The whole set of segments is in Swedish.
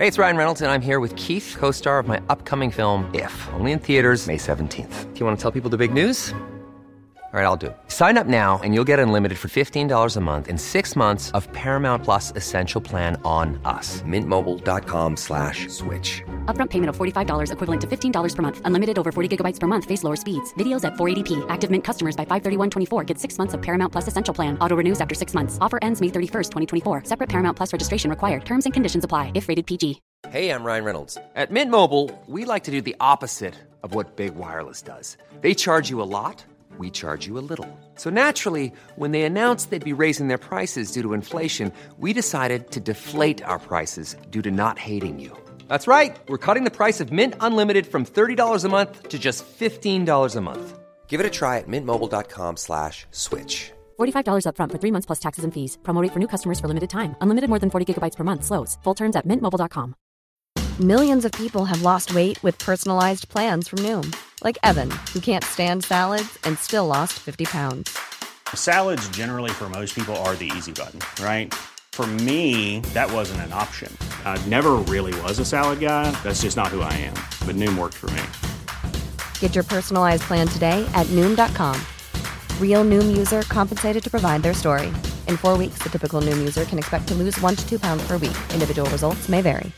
Hey, it's Ryan Reynolds, and I'm here with Keith, co-star of my upcoming film, If, only in theaters May 17th. Do you want to tell people the big news? All right, I'll do it. Sign up now and you'll get unlimited for $15 a month and 6 months of Paramount Plus Essential Plan on us. MintMobile.com/switch. Upfront payment of $45 equivalent to $15 per month. Unlimited over 40 gigabytes per month. Face lower speeds. Videos at 480p. Active Mint customers by 531.24 get 6 months of Paramount Plus Essential Plan. Auto renews after 6 months. Offer ends May 31st, 2024. Separate Paramount Plus registration required. Terms and conditions apply if rated PG. Hey, I'm Ryan Reynolds. At Mint Mobile, we like to do the opposite of what Big Wireless does. They charge you a lot. We charge you a little. So naturally, when they announced they'd be raising their prices due to inflation, we decided to deflate our prices due to not hating you. That's right. We're cutting the price of Mint Unlimited from $30 a month to just $15 a month. Give it a try at mintmobile.com/switch. $45 upfront for 3 months plus taxes and fees. Promo rate for new customers for limited time. Unlimited more than 40 gigabytes per month. Slows full terms at mintmobile.com. Millions of people have lost weight with personalized plans from Noom. Like Evan, who can't stand salads and still lost 50 pounds. Salads generally for most people are the easy button, right? For me, that wasn't an option. I never really was a salad guy. That's just not who I am. But Noom worked for me. Get your personalized plan today at Noom.com. Real Noom user compensated to provide their story. In 4 weeks, the typical Noom user can expect to lose 1 to 2 pounds per week. Individual results may vary.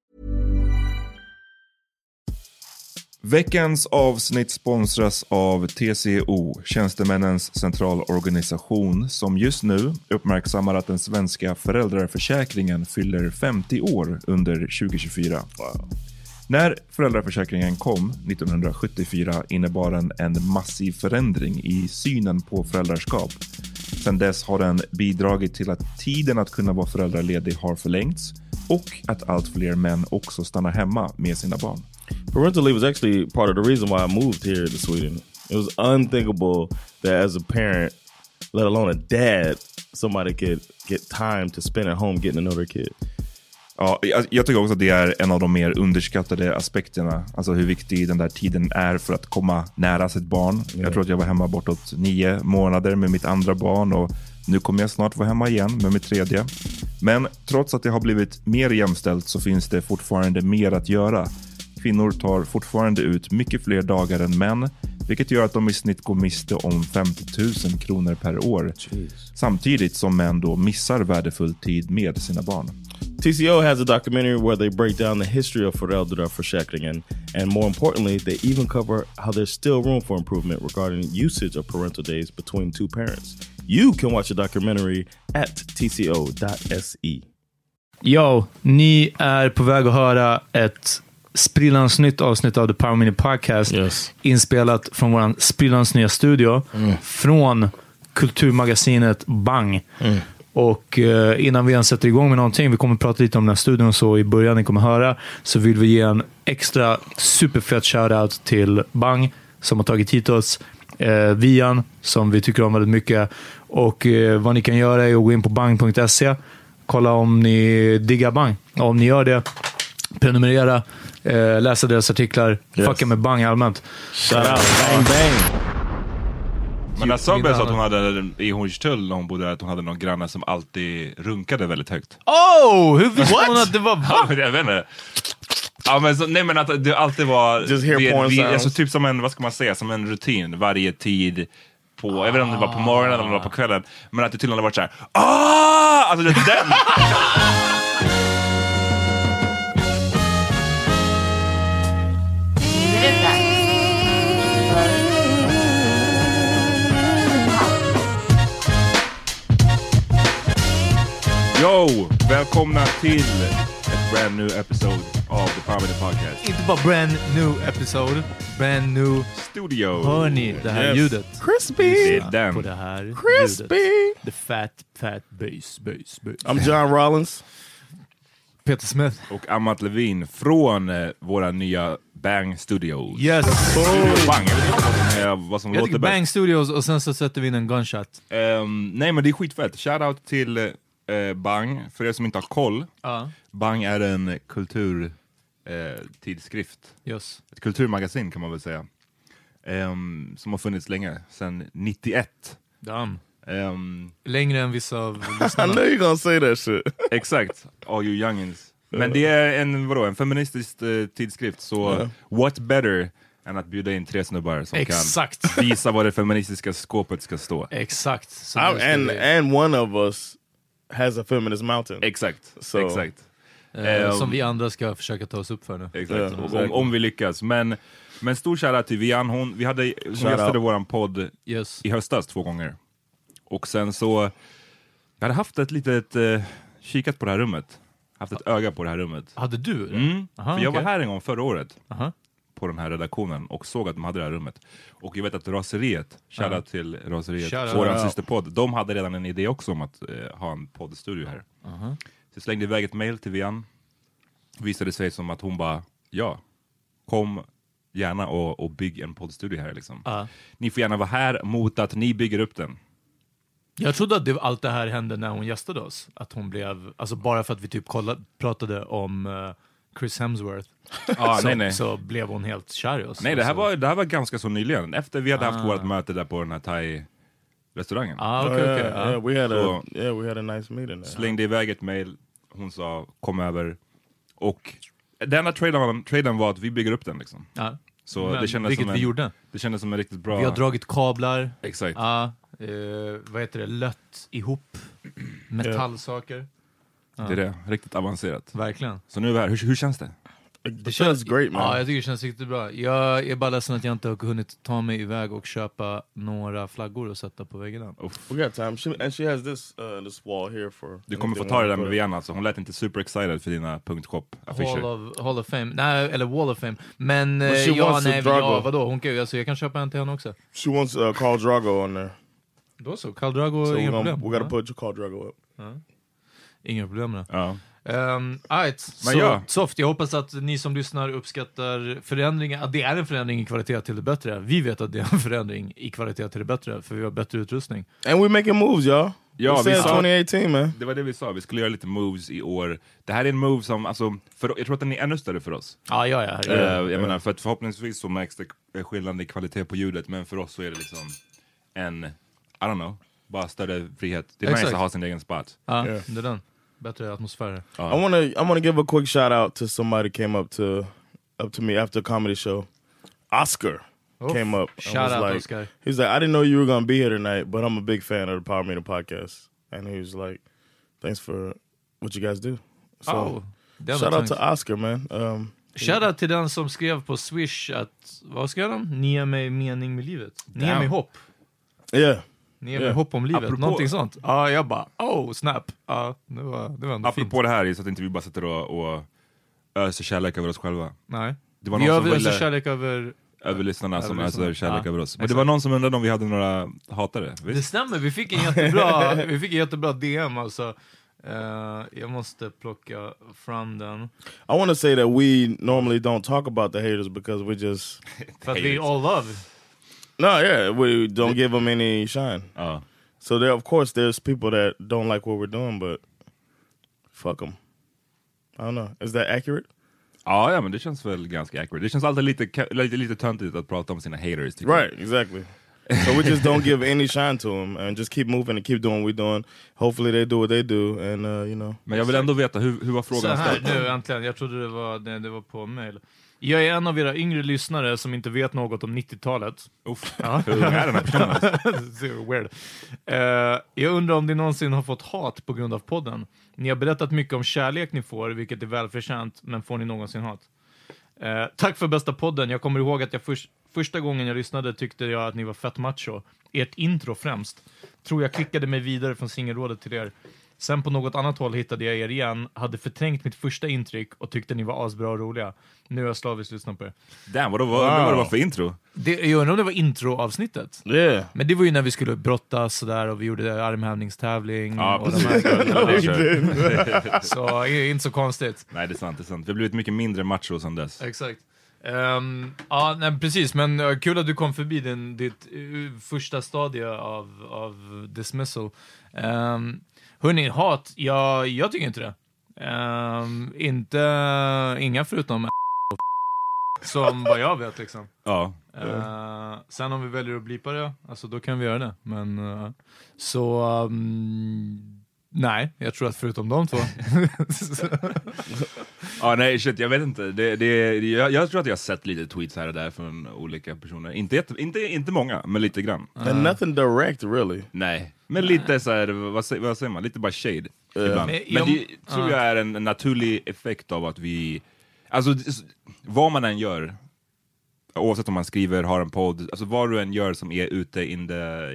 Veckans avsnitt sponsras av TCO, Tjänstemännens centralorganisation, som just nu uppmärksammar att den svenska föräldraförsäkringen fyller 50 år under 2024. Wow. När föräldraförsäkringen kom 1974 innebar den en massiv förändring i synen på föräldraskap. Sedan dess har den bidragit till att tiden att kunna vara föräldraledig har förlängts och att allt fler män också stannar hemma med sina barn. Parental leave was actually part of the reason why I moved here to Sweden. It was unthinkable that as a parent, let alone a dad, somebody could get time to spend at home getting to know their kid. Ja, jag tycker också att det är en av de mer underskattade aspekterna. Alltså hur viktig den där tiden är för att komma nära sitt barn. Yeah. Jag tror att jag var hemma bortåt 9 månader med mitt andra barn och nu kommer jag snart vara hemma igen med mitt tredje. Men trots att det har blivit mer jämställt så finns det fortfarande mer att göra. Kvinnor tar fortfarande ut mycket fler dagar än män, vilket gör att de i snitt går miste om 50 000 kronor per år. Jeez. Samtidigt som män då missar värdefull tid med sina barn. TCO has a documentary where they break down the history of föräldraförsäkringen, and more importantly, they even cover how there's still room for improvement regarding usage of parental days between two parents. You can watch the documentary at tco.se. Yo, ni är på väg att höra ett sprillans nytt avsnitt av The Power Mini Podcast, inspelat från våran sprillans nya studio från kulturmagasinet Bang. Och innan vi ens sätter igång med någonting, vi kommer prata lite om den här studion så i början ni kommer höra, så vill vi ge en extra superfett shoutout till Bang som har tagit hit oss, Vian som vi tycker om väldigt mycket, och vad ni kan göra är att gå in på bang.se, kolla om ni diggar Bang, och om ni gör det, prenumerera, läsa deras artiklar, fucka med Bang allmänt. Shout out, bang bang. Men när Sabbe sa att hon hade i Hornstull när hon bodde där, att hon hade någon granne som alltid runkade väldigt högt. Hur visste hon att det var jag vet inte. Ja, men så, nej, men att det alltid var alltså, typ som en, vad ska man säga, som en rutin varje tid på, jag vet inte om det var på morgonen eller om det var på kvällen, men att det tydligen har varit så här. Alltså det är den. Yo, välkomna till ett brand new episode of the Power Mini Podcast. Inte bara brand new episode, brand new studio. Hörni, det här ljudet. Crispy. Det är den. På det här crispy. Ljudet. The fat bass. I'm John Rollins. Peter Smith. Och Amat Levin från våra nya Bang Studios. Yes. Bang. Vad som jag låter tycker bäst. Bang Studios och sen så sätter vi in en gunshot. Nej, men det är skitfett. Shoutout till Bang. För er som inte har koll. Bang är en kulturtidskrift. Yes. Ett kulturmagasin kan man väl säga. Som har funnits länge. Sedan 91. Damn. Längre än vissa av I know you're gonna say that shit. Exakt. All you youngins. Men det är en feministisk tidskrift, så what better än att bjuda in 3 snubbar som kan visa vad det feministiska skåpet ska stå. Exakt. And one of us has a feminist mountain. Exakt. Som vi andra ska försöka ta oss upp för nu. Exakt. Om vi lyckas. Men stor shoutout till Vian. Hon gästade våran podd i höstas 2 gånger. Och sen så jag hade haft ett litet kikat på det här rummet. Haft ett öga på det här rummet. Hade du det? För jag var här en gång förra året. På den här redaktionen och såg att de hade det här rummet. Och jag vet att Raseriet, shoutout till Raseriet, våran systerpodd, de hade redan en idé också om att ha en poddstudio här. Så jag slängde iväg ett mail till Vian. Visade sig som att hon bara, kom gärna och bygg en poddstudio här liksom. Ni får gärna vara här mot att ni bygger upp den. Jag trodde att allt det här hände när hon gästade oss. Att hon blev, alltså bara för att vi typ pratade om Chris Hemsworth. Så blev hon helt kär i oss. Nej, det här var ganska så nyligen. Efter vi hade haft vårt möte där på den här thai-restaurangen. We had a nice meeting there. Slängde iväg ett mail. Hon sa, kom över. Och denna traden var att vi bygger upp den liksom. Så det kändes som vi gjorde. Det kändes som en riktigt bra... Vi har dragit kablar. Exakt. Vad heter det? Lött ihop metallsaker. Det är det. Riktigt avancerat. Verkligen. Så nu är vi här. Hur känns det? Det känns great, man. Ja, jag tycker det känns riktigt bra. Jag är bara ledsen att jag inte har hunnit ta mig iväg och köpa några flaggor och sätta på väggarna. We got time. And she has this wall here for... Du kommer få ta det där med Vienna, alltså. Hon lät inte super excited för dina .shop-affischer. Hall of Fame. Nej, eller Wall of Fame. Men vadå? Jag kan köpa en till henne också. She wants Khal Drogo on there. Då så, Khal Drogo, inga problem. We gotta put Khal Drogo up. Inga problem med det. Ja. Soft, jag hoppas att ni som lyssnar uppskattar förändringen, att det är en förändring i kvalitet till det bättre. Vi vet att det är en förändring i kvalitet till det bättre, för vi har bättre utrustning. And we making moves, y'all. Ja, vi sa 2018, man. Det var det vi sa, vi skulle göra lite moves i år. Det här är en move som, alltså, jag tror att den är ännu större för oss. Jag menar, för att förhoppningsvis så märks det skillnad i kvalitet på ljudet, men för oss så är det liksom I don't know, bara större frihet. Det är nice att ha sin egen spot. Det är den. Bättre atmosfär. I wanna give a quick shout out to somebody came up to me after a comedy show. Oscar came up. Shout out, like, Oscar. He was like, I didn't know you were gonna be here tonight, but I'm a big fan of the Power Meter podcast. And he was like, thanks for what you guys do. So shout out to Oscar, man. Shoutout till den som skrev på Swish att, vad skrev de? Ni ger mig mening med livet. Ni ger mig hopp. Ni ger mig hopp om livet. Någonting sånt. Jag bara, snap. Det var ändå fint. Apropå det här, så att inte vi bara sitter och öser kärlek över oss själva. Nej. Det var vi öser kärlek över lyssnarna som öser kärlek över oss. Men det var någon som undrade om vi hade några hatare. Visst? Det stämmer, vi fick en jättebra DM alltså. Jag måste plocka fram den. I want to say that we normally don't talk about the haters because we just... But we all love. No, we don't give them any shine. So there, of course, there's people that don't like what we're doing, but fuck them. I don't know. Is that accurate? Ja, men det känns väl ganska accurate. Det känns alltid lite töntigt att prata om sina haters. Right, exactly. So we just don't give any shine to them and just keep moving and keep doing what we're doing. Hopefully they do what they do and you know. Men jag vill ändå veta hur var frågan så här, nu äntligen. Jag trodde det var på mail. Jag är en av era yngre lyssnare som inte vet något om 90-talet. Hur är den här personen? So weird. Jag undrar om ni någonsin har fått hat på grund av podden. Ni har berättat mycket om kärlek ni får, vilket är välförtjänt, men får ni någonsin hat? Tack för bästa podden. Jag kommer ihåg att jag första gången jag lyssnade tyckte jag att ni var fett macho. Ert intro främst. Tror jag klickade mig vidare från singelrådet till er. Sen på något annat håll hittade jag er igen, hade förträngt mitt första intryck och tyckte ni var asbra och roliga. Nu är jag slaviskt lyssnat på er. Damn, vad var det för intro? Jag undrar om det var introavsnittet. Yeah. Men det var ju när vi skulle brottas sådär och vi gjorde armhävningstävling. Ja, så inte så konstigt. Nej, det är sant. Vi har blivit mycket mindre macho sedan dess. Exakt. Nej, precis, men kul att du kom förbi ditt första stadie av dismissal. Hörrni, hat, jag tycker inte det. Inga förutom som vad jag vet liksom. Ja. Sen om vi väljer att blipa det, alltså då kan vi göra det. Men Nej, jag tror att förutom de två. Ja, nej, shit, jag vet inte. Jag tror att jag har sett lite tweets här och där från olika personer. Inte många, men lite grann. And nothing direct, really. Nej, men lite så här, vad säger man? Lite bara shade ibland. Men det tror jag är en naturlig effekt av att vi... Alltså, vad man än gör, oavsett om man skriver, har en podd, alltså vad du än gör som är ute in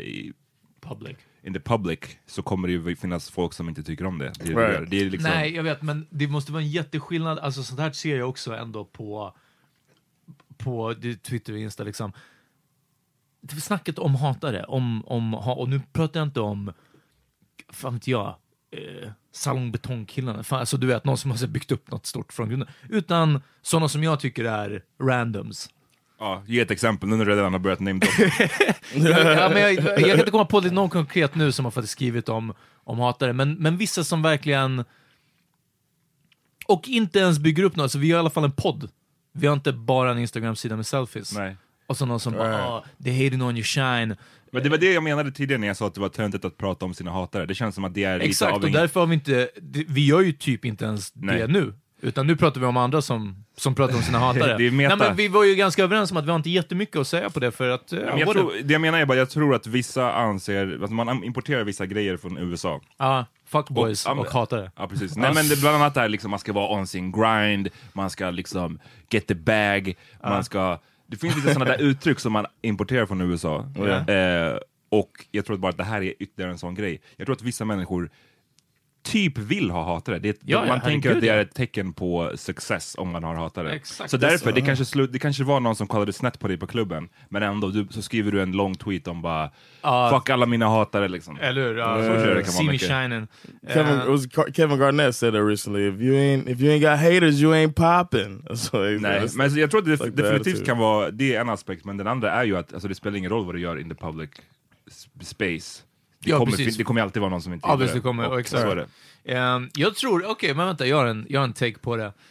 the public, så kommer det ju finnas folk som inte tycker om det. Det är liksom... Nej, jag vet, men det måste vara en jätteskillnad. Alltså sånt här ser jag också ändå på Twitter och Insta liksom. Det är snacket om hatare, och nu pratar jag inte om, fan vet jag, salongbetongkillarna, alltså du vet, någon som har byggt upp något stort från grunden, utan sådana som jag tycker är randoms. Ja, ge ett exempel nu när du redan har börjat nämna ja, men jag kan inte komma på någon konkret nu som har faktiskt skrivit om hatare, men vissa som verkligen, och inte ens bygger upp något, så vi har i alla fall en podd. Vi har inte bara en Instagram-sida med selfies. Nej. Och så någon som bara, they're hating on your shine. Men det var det jag menade tidigare när jag sa att det var töntigt att prata om sina hatare. Det känns som att det är lite exakt, av och därför har vi inte, vi gör ju typ inte ens det nu. Utan nu pratar vi om andra som pratar om sina hatare. Det är meta. Nej, men vi var ju ganska överens om att vi har inte jättemycket att säga på det, för att... jag tror att vissa anser att man importerar vissa grejer från USA. Ja, fuckboys och hatare. Ja, precis. Nej, men det bland annat är liksom, man ska vara on sin grind, man ska liksom get the bag, man ska... Det finns lite sådana där uttryck som man importerar från USA. Och jag tror bara att det här är ytterligare en sån grej. Jag tror att vissa människor typ vill ha hatare. Man tänker att det är ett tecken på success om man har hatare. Exakt. Så därför, det kanske var någon som kallade snett på dig på klubben, men ändå så skriver du en lång tweet om bara fuck alla mina hatare liksom. Eller hur? See me shining. Kevin Garnett said that recently. If you ain't got haters, you ain't popping. Nej, men jag tror att det definitivt kan vara, det är en aspekt, men den andra är ju att alltså, det spelar ingen roll vad du gör in the public space. Det kommer alltid vara någon som inte gillar det. Kommer, exakt. Så är det. Jag tror, men vänta, jag har en take på det.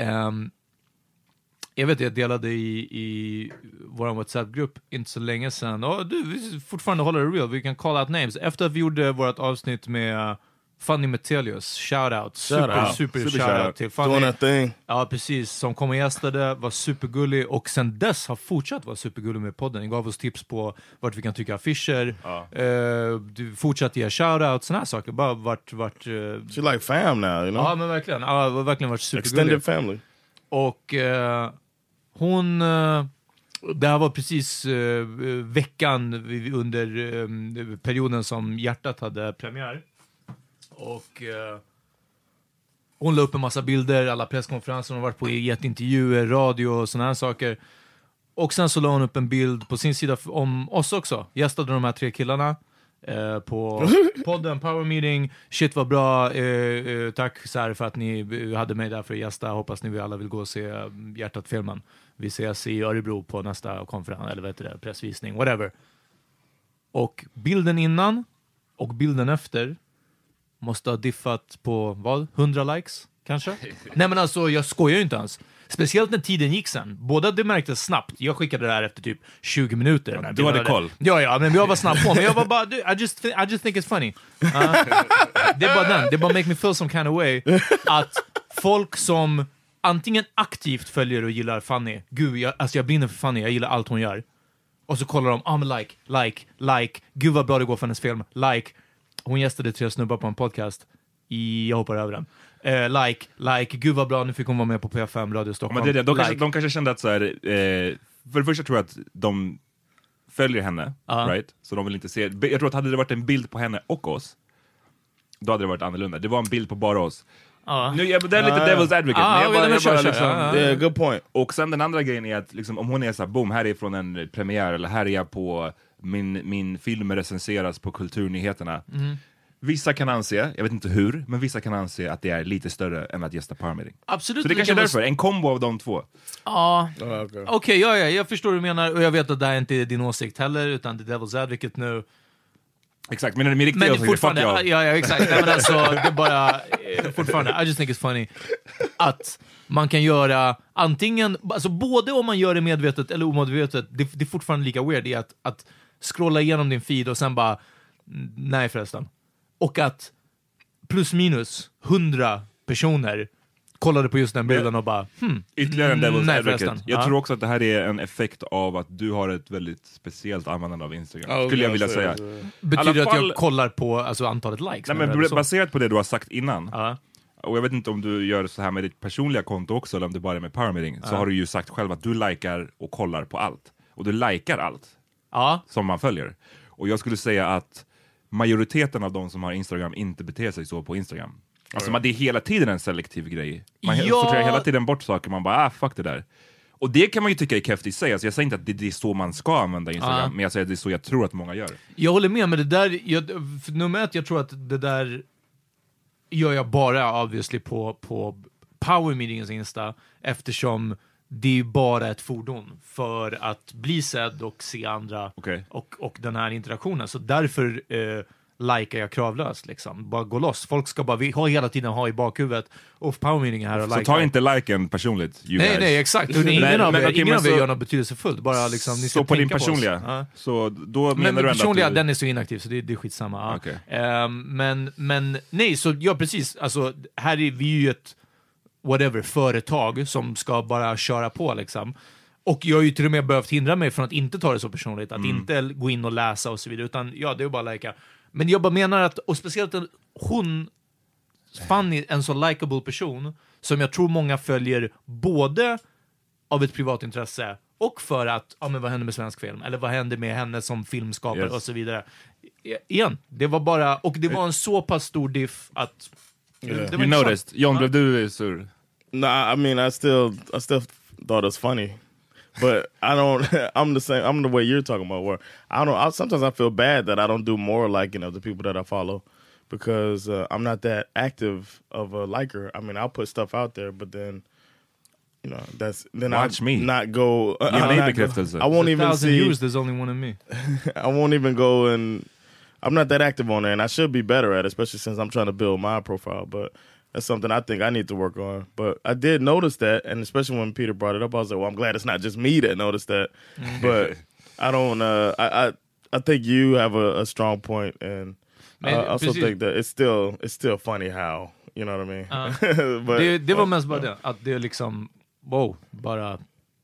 Jag vet, jag delade i vår WhatsApp-grupp inte så länge sedan. Vi fortfarande håller det real, vi kan call out names. Efter att vi gjorde vårt avsnitt med Fanny Metelius, shoutout. Super shoutout till Fanny. Doing that thing. Ja, precis. Som kom och gästade, var supergullig och sen dess har fortsatt vara supergullig med podden. Den gav oss tips på vart vi kan tycka affischer. Du fortsatt ge shoutout, såna här saker. Bara vart She's like fam now, you know? Ja, men verkligen. Ja, verkligen varit supergullig. Extended family. Och hon... det här var precis veckan under perioden som Hjärtat hade premiär. Och hon la upp en massa bilder, alla presskonferenser hon har varit på, gett intervjuer, radio och såna här saker. Och sen så la hon upp en bild på sin sida om oss också. Gästade de här 3 killarna på podden Power Meeting. Shit var bra, tack så här för att ni hade mig där för att gästa. Hoppas ni alla vill gå och se Hjärtat-filmen. Vi ses i Örebro på nästa konferens, eller vad heter det, pressvisning, whatever. Och bilden innan och bilden efter måste ha diffat på, vad? 100 likes, kanske? Nej, men alltså, jag skojar ju inte ens. Speciellt när tiden gick sen. Båda det märktes snabbt. Jag skickade det här efter typ 20 minuter. Du hade koll. Ja, men jag var snabb på. Men jag var bara, I just think it's funny. Det är bara den. Det bara make me feel some kind of way. Att folk som antingen aktivt följer och gillar Fanny. Gud, jag brinner för Fanny. Jag gillar allt hon gör. Och så kollar de, like. Gud vad bra det går för hennes film. Like. Hon gästade 3 snubbar på en podcast. Jag hoppar över den. Like. Gud vad bra, nu fick hon vara med på P5 Radio Stockholm. Men de kanske kände att så här, för det första tror jag att de följer henne, right? Så de vill inte se. Jag tror att hade det varit en bild på henne och oss, då hade det varit annorlunda. Det var en bild på bara oss. Nu, det är lite devil's advocate. Good point. Och sen den andra grejen är att liksom, om hon är så här, boom, här är från en premiär, eller här är jag på min film recenseras på Kulturnyheterna. Vissa kan anse, jag vet inte hur, men vissa kan anse att det är lite större än att gästa Power Meeting. Absolut. Så det kanske är därför, en kombo av de två. Ja, okej, jag förstår vad du menar. Och jag vet att det här inte är din åsikt heller, utan det är devil's advocate nu. Exakt, men min riktiga åsikt är fuck jag. Ja, exakt. Nej, men alltså, det är bara fortfarande, I just think it's funny att man kan göra antingen, alltså både om man gör det medvetet eller omedvetet, det är fortfarande lika weird i att scrolla igenom din feed och sen bara, nej förresten. Och att plus minus 100 personer kollade på just den bilden och bara ytterligare en devil's advocate. förresten. Jag tror också att det här är en effekt av att du har ett väldigt speciellt användande av Instagram, skulle jag vilja säga. Betyder det att jag kollar på alltså, antalet likes? Nej, men baserat på det du har sagt innan, och jag vet inte om du gör så här med ditt personliga konto också, eller om det bara är med Power Meeting, så har du ju sagt själv att du likar och kollar på allt. Och du likar allt som man följer. Och jag skulle säga att majoriteten av de som har Instagram inte beter sig så på Instagram. Alltså det är hela tiden en selektiv grej. Man sorterar hela tiden bort saker, man bara, fuck det där. Och det kan man ju tycka är kräftigt i sig. Alltså jag säger inte att det är så man ska använda Instagram, men jag säger att det är så jag tror att många gör. Jag håller med, men det där, nummer ett, jag tror att det där gör jag bara obviously på Power Meetings Insta, eftersom det är bara ett fordon för att bli sedd och se andra och den här interaktionen. Så därför likar jag kravlöst liksom. Bara gå loss. Folk ska bara hela tiden ha i bakhuvudet och Power Meeting här och så ta inte liken personligt. Nej, exakt. Ingen av er gör något betydelsefullt. Bara liksom, ni ska så på din tänka personliga. på oss. Så då men menar du personliga, att den är så inaktiv så det är skitsamma. Okay. Men nej, så ja precis. Alltså, här är vi ju ett företag som ska bara köra på liksom. Och jag har ju till och med behövt hindra mig från att inte ta det så personligt, att inte gå in och läsa och så vidare, utan det är bara lika. Men jag bara menar att, och speciellt hon Fanny, en så likable person som jag tror många följer både av ett privatintresse och för att, men vad händer med svensk film? Eller vad händer med henne som filmskapare och så vidare. Igen, det var bara, och det var en så pass stor diff att you noticed. John, blev du sur? No, I mean, I still thought it was funny. But I don't. I'm the same. I'm the way you're talking about. Where I don't. Sometimes I feel bad that I don't do more liking of the people that I follow, because I'm not that active of a liker. I mean, I'll put stuff out there, but then watch me not go. I won't even see. Years, there's only one of me. I won't even go, and I'm not that active on there, and I should be better at it, especially since I'm trying to build my profile. But that's something I think I need to work on. But I did notice that, and especially when Peter brought it up, I was like, well, I'm glad it's not just me that noticed that. But I don't, I think you have a strong point, and I also think that it's still funny how, you know what I mean? But, det var mest bara det, att det liksom, bara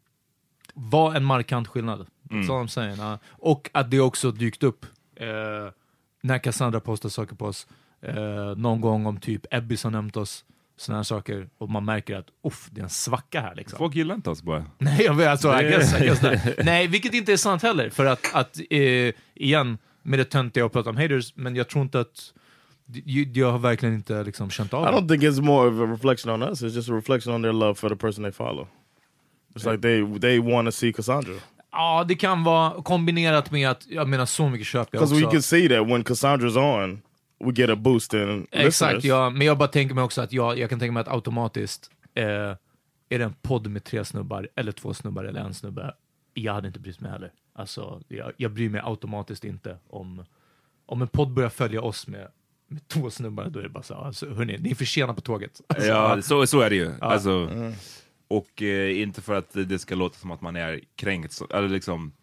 var en markant skillnad. Så de säger. Och att det också dykt upp när Cassandra postar saker på oss. Någon gång om typ Ebbis har nämnt oss, såna här saker, och man märker att det är en svacka här liksom. Folk gillar inte oss bara. Nej, jag vet, alltså, I guess nej, vilket inte är sant heller, för att igen, med det töntiga och prata om haters, men jag tror inte att jag har verkligen inte liksom känt av det. I don't think it's more of a reflection on us, it's just a reflection on their love for the person they follow. It's like they want to see Cassandra. Ja, det kan vara kombinerat med att, jag menar, så mycket köper jag också. Because we can see that when Cassandra's on, we get a boost in exakt, ja, men jag bara tänker mig också att jag kan tänka mig att automatiskt är det en podd med 3 snubbar eller 2 snubbar eller en snubbe, jag hade inte brytt mig heller. Alltså, jag bryr mig automatiskt inte om en podd börjar följa oss med 2 snubbar, då är det bara så, alltså, hörni, ni är för sena på tåget. Alltså, ja, så är det ju. Alltså, och inte för att det ska låta som att man är kränkt, eller liksom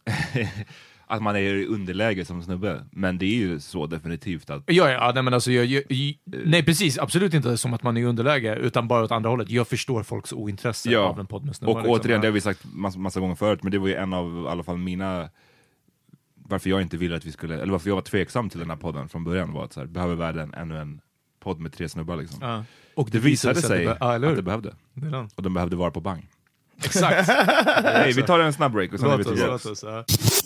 att man är i underläge som snubbe, men det är ju så definitivt att... Ja, nej, men alltså nej, precis, absolut inte som att man är i underläge, utan bara åt andra hållet. Jag förstår folks ointresse av en podd med snubbar. Och liksom, återigen, det har vi sagt massa gånger förut, men det var ju en av i alla fall mina... Varför jag inte ville att vi skulle... Eller varför jag var tveksam till den här podden från början var att så här, behöver världen ännu en podd med 3 snubbar liksom. Ja. Och det visade sig att det behövde. Och de behövde vara på bang. Exakt. Nej, vi tar en snabb break och sen är vi tillbaka.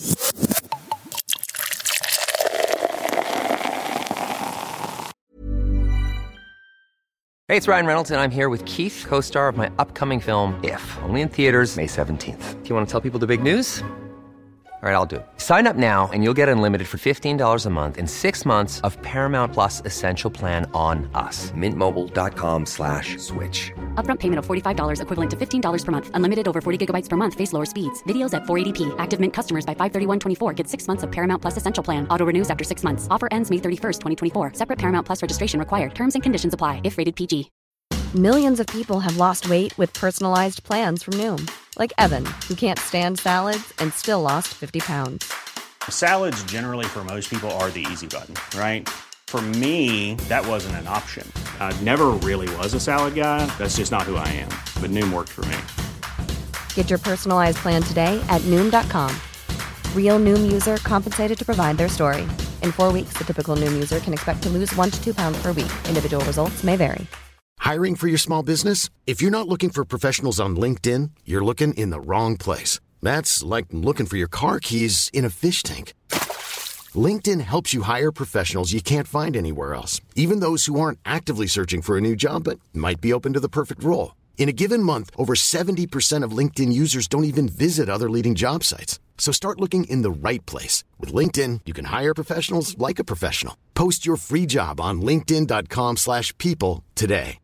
Hey, it's Ryan Reynolds, and I'm here with Keith, co-star of my upcoming film, If, only in theaters May 17th. Do you want to tell people the big news? All right, I'll do it. Sign up now and you'll get unlimited for $15 a month and 6 months of Paramount Plus Essential Plan on us. MintMobile.com/switch. Upfront payment of $45 equivalent to $15 per month. Unlimited over 40 gigabytes per month. Face lower speeds. Videos at 480p. Active Mint customers by 531.24 get 6 months of Paramount Plus Essential Plan. Auto renews after 6 months. Offer ends May 31st, 2024. Separate Paramount Plus registration required. Terms and conditions apply if rated PG. Millions of people have lost weight with personalized plans from Noom. Like Evan, who can't stand salads and still lost 50 pounds. Salads generally for most people are the easy button, right? For me, that wasn't an option. I never really was a salad guy. That's just not who I am. But Noom worked for me. Get your personalized plan today at Noom.com. Real Noom user compensated to provide their story. In 4 weeks, the typical Noom user can expect to lose 1 to 2 pounds per week. Individual results may vary. Hiring for your small business? If you're not looking for professionals on LinkedIn, you're looking in the wrong place. That's like looking for your car keys in a fish tank. LinkedIn helps you hire professionals you can't find anywhere else, even those who aren't actively searching for a new job but might be open to the perfect role. In a given month, over 70% of LinkedIn users don't even visit other leading job sites. So start looking in the right place. With LinkedIn, you can hire professionals like a professional. Post your free job on linkedin.com/people today.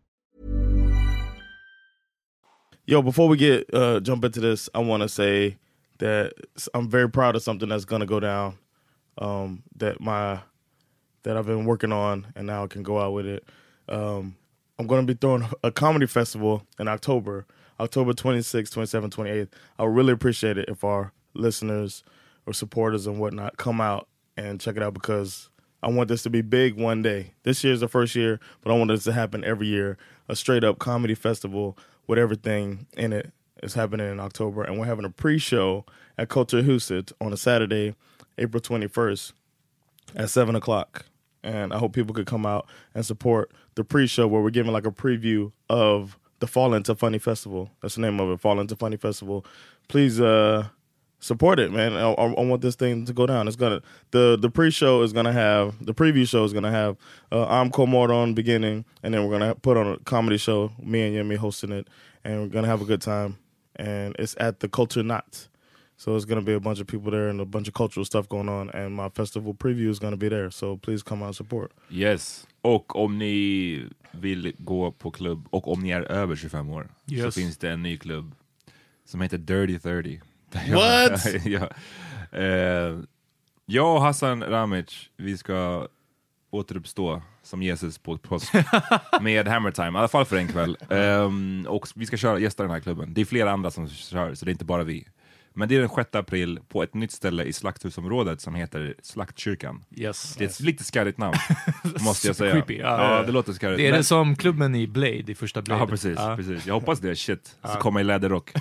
Yo, before we get jump into this, I want to say that I'm very proud of something that's going to go down that I've been working on, and now I can go out with it. I'm going to be throwing a comedy festival in October 26th, 27th, 28th. I would really appreciate it if our listeners or supporters and whatnot come out and check it out, because I want this to be big one day. This year's the first year, but I want this to happen every year. A straight-up comedy festival with everything in it is happening in October, and we're having a pre-show at Culture Huset on a Saturday, April 21st at 7 o'clock. And I hope people could come out and support the pre-show, where we're giving like a preview of the Fall Into Funny Festival. That's the name of it, Fall Into Funny Festival. Please support it, man. I want this thing to go down. It's gonna the pre-show is gonna have, the preview show is gonna have I'm Komordon beginning, and then we're gonna put on a comedy show, me and Yemi hosting it, and we're gonna have a good time. And it's at the Culture Knot. So it's going to be a bunch of people there and a bunch of cultural stuff going on. And my festival preview is going to be there. So please come out and support. Yes. Och om ni vill gå på klubb, och om ni är över 25 år, så finns det en ny klubb som heter Dirty 30. What? Jag och Hassan Ramic, vi ska återuppstå som Jesus på påsk med Hammer Time, i alla fall för en kväll. Och vi ska gästa den här klubben. Det är flera andra som kör, så det är inte bara vi. Men det är den 6 april på ett nytt ställe i Slakthusområdet som heter Slaktkyrkan. Yes. Det är ett lite skarrigt namn, måste jag säga. Creepy. Ja, det låter skarrigt. Det är det som klubben i Blade, i första Blade. Ja, precis. Jag hoppas det är shit. Så kommer i läderrock.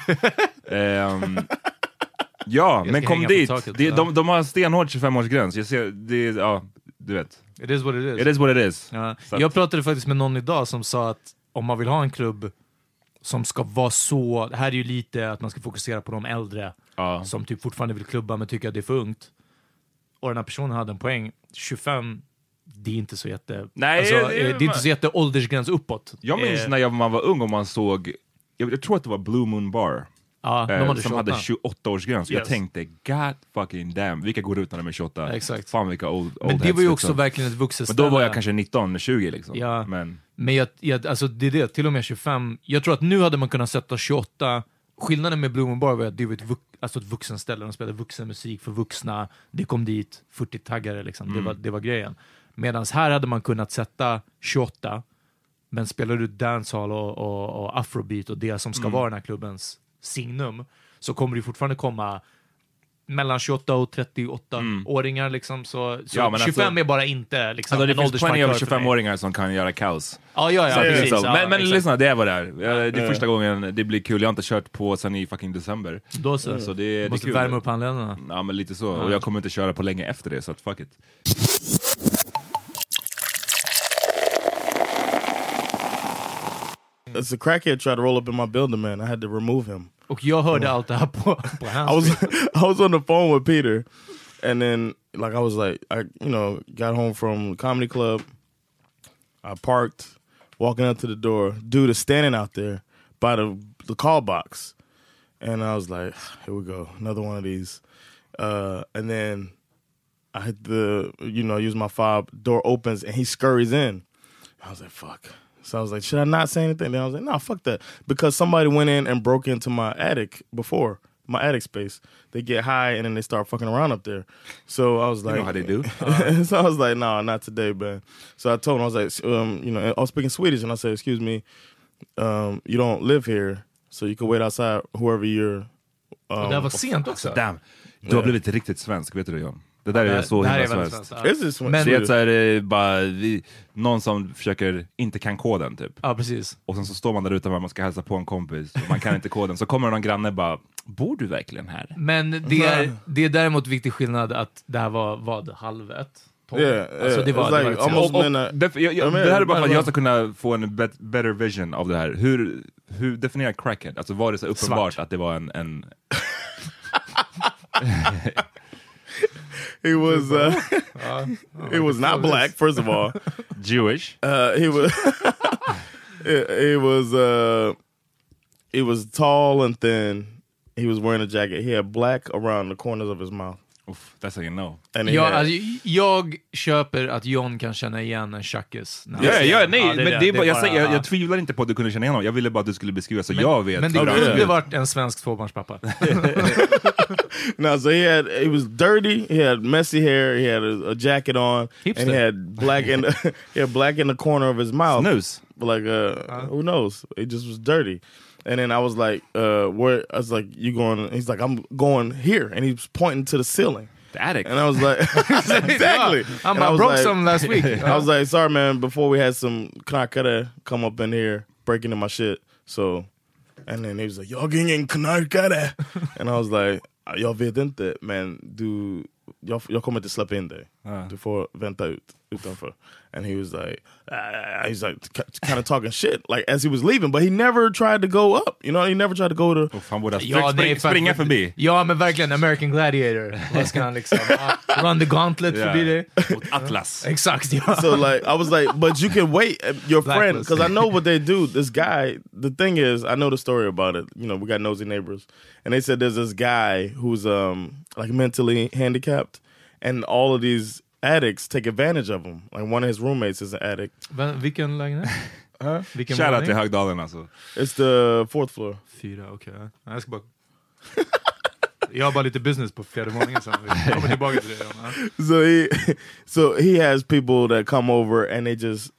Ja, men kom dit. De har stenhård 25-årsgräns. Jag ser, du vet. It is what it is. It is what it is. Ja. Jag pratade faktiskt med någon idag som sa att om man vill ha en klubb som ska vara så, det här är ju lite att man ska fokusera på de äldre som typ fortfarande vill klubba men tycker att det är för ungt. Och den här personen hade en poäng. 25, det är inte så jätte... Nej, alltså, det är inte så jätte åldersgräns uppåt. Jag minns när man var ung och man såg, jag tror att det var Blue Moon Bar. Som hade 28-årsgräns. Yes. Jag tänkte, god fucking damn, vilka går ut när de är 28? Exakt. Fan vilka old men det var ju också verkligen ett vuxet ställe. Men då var jag kanske 19-20 liksom. Ja. Men jag, alltså det är det, till och med 25. Jag tror att nu hade man kunnat sätta 28. Skillnaden med Blue Moon Bar var att det var ett vuxenställe. De spelade vuxenmusik för vuxna. Det kom dit 40-taggare liksom. Det var grejen. Medan här hade man kunnat sätta 28. Men spelar du dancehall och afrobeat och det som ska vara den här klubbens signum, så kommer det fortfarande komma mellan 28 och 38-åringar liksom, så ja, 25 alltså, är bara inte liksom, alltså, det finns plenty av 25-åringar som kan göra kaos. Ja, precis. Men lyssna, det är vad det är. Det är första gången det blir kul. Jag har inte kört på sen i fucking december. Då så det måste kul. Värma upp handledarna. Ja, men lite så. Och jag kommer inte köra på länge efter det, så att fuck it. As a crackhead tried to roll up in my building, man, I had to remove him. Och jag hörde allt det här på I was on the phone with Peter, and then like I was like, I got home from the comedy club. I parked, walking up to the door. Dude is standing out there by the call box, and I was like, here we go, another one of these. And then I hit use my fob. Door opens and he scurries in. I was like, fuck. So I was like, should I not say anything? Then I was like, no, fuck that. Because somebody went in and broke into my attic before, my attic space. They get high and then they start fucking around up there. So I was like... You know how they do. So I was like, no, not today, man. So I told him, I was like, I was speaking Swedish, and I said, excuse me, you don't live here, so you can wait outside whoever you're... det var sent också. Damn. Du har blivit riktigt svensk, vet du det, John? Det där är så himla svenskt. Men det är så här, bara någon som försöker inte kan koden typ. Ja, precis. Och sen så står man där ute och man ska hälsa på en kompis och man kan inte koden. Så kommer någon granne bara, bor du verkligen här? Men det är däremot viktig skillnad att det här var halv 1. Alltså det var det här är bara för att jag ska kunna få en better vision av det här. Hur definierar crackhead? Alltså var det så uppenbart svart att det var en He was not black, first of all. Jewish. He was tall and thin. He was wearing a jacket. He had black around the corners of his mouth. Oof, that's how you know. Jag köper att John kan känna igen en tjackis. Jag tvivlar inte på att du kunde känna igen honom. Jag ville bara att du skulle beskriva så jag vet. Men det kunde varit en svensk tvåbarnspappa. No, so he was dirty. He had messy hair. He had a jacket on, Hipster. and he had black in the corner of his mouth. Snooze. Like who knows? It just was dirty. And then I was like, where? I was like, you going? He's like, I'm going here, and he was pointing to the ceiling. The attic. And I was like, exactly. I broke some last week. I was like, sorry man, before we had some knarkare come up in here breaking in my shit. So, and then he was like, jag ingen knarkare. And I was like, jag vet inte, men jag kommer inte släppa in dig. Du får vänta utanför. And he was like kind of talking shit like as he was leaving, but he never tried to go up. You know, he never tried to go to. Han borde springa förbi. Ja, men verkligen American Gladiator. Vad ska han liksom run the gauntlet förbi dig? Mot Atlas. Exakt, ja. So like I was like, but you can wait your friend, because I know what they do. This guy, the thing is, I know the story about it. You know, we got nosy neighbors, and they said there's this guy who's like mentally handicapped, and all of these addicts take advantage of him. Like one of his roommates is an addict. Vilken lägenhet? Shout out till Högdalen alltså. It's the 4th floor. 4, okej. Jag ska bara... Jag har bara lite business på 4:e våningen sen. Vi kommer tillbaka till det. So he has people that come over and they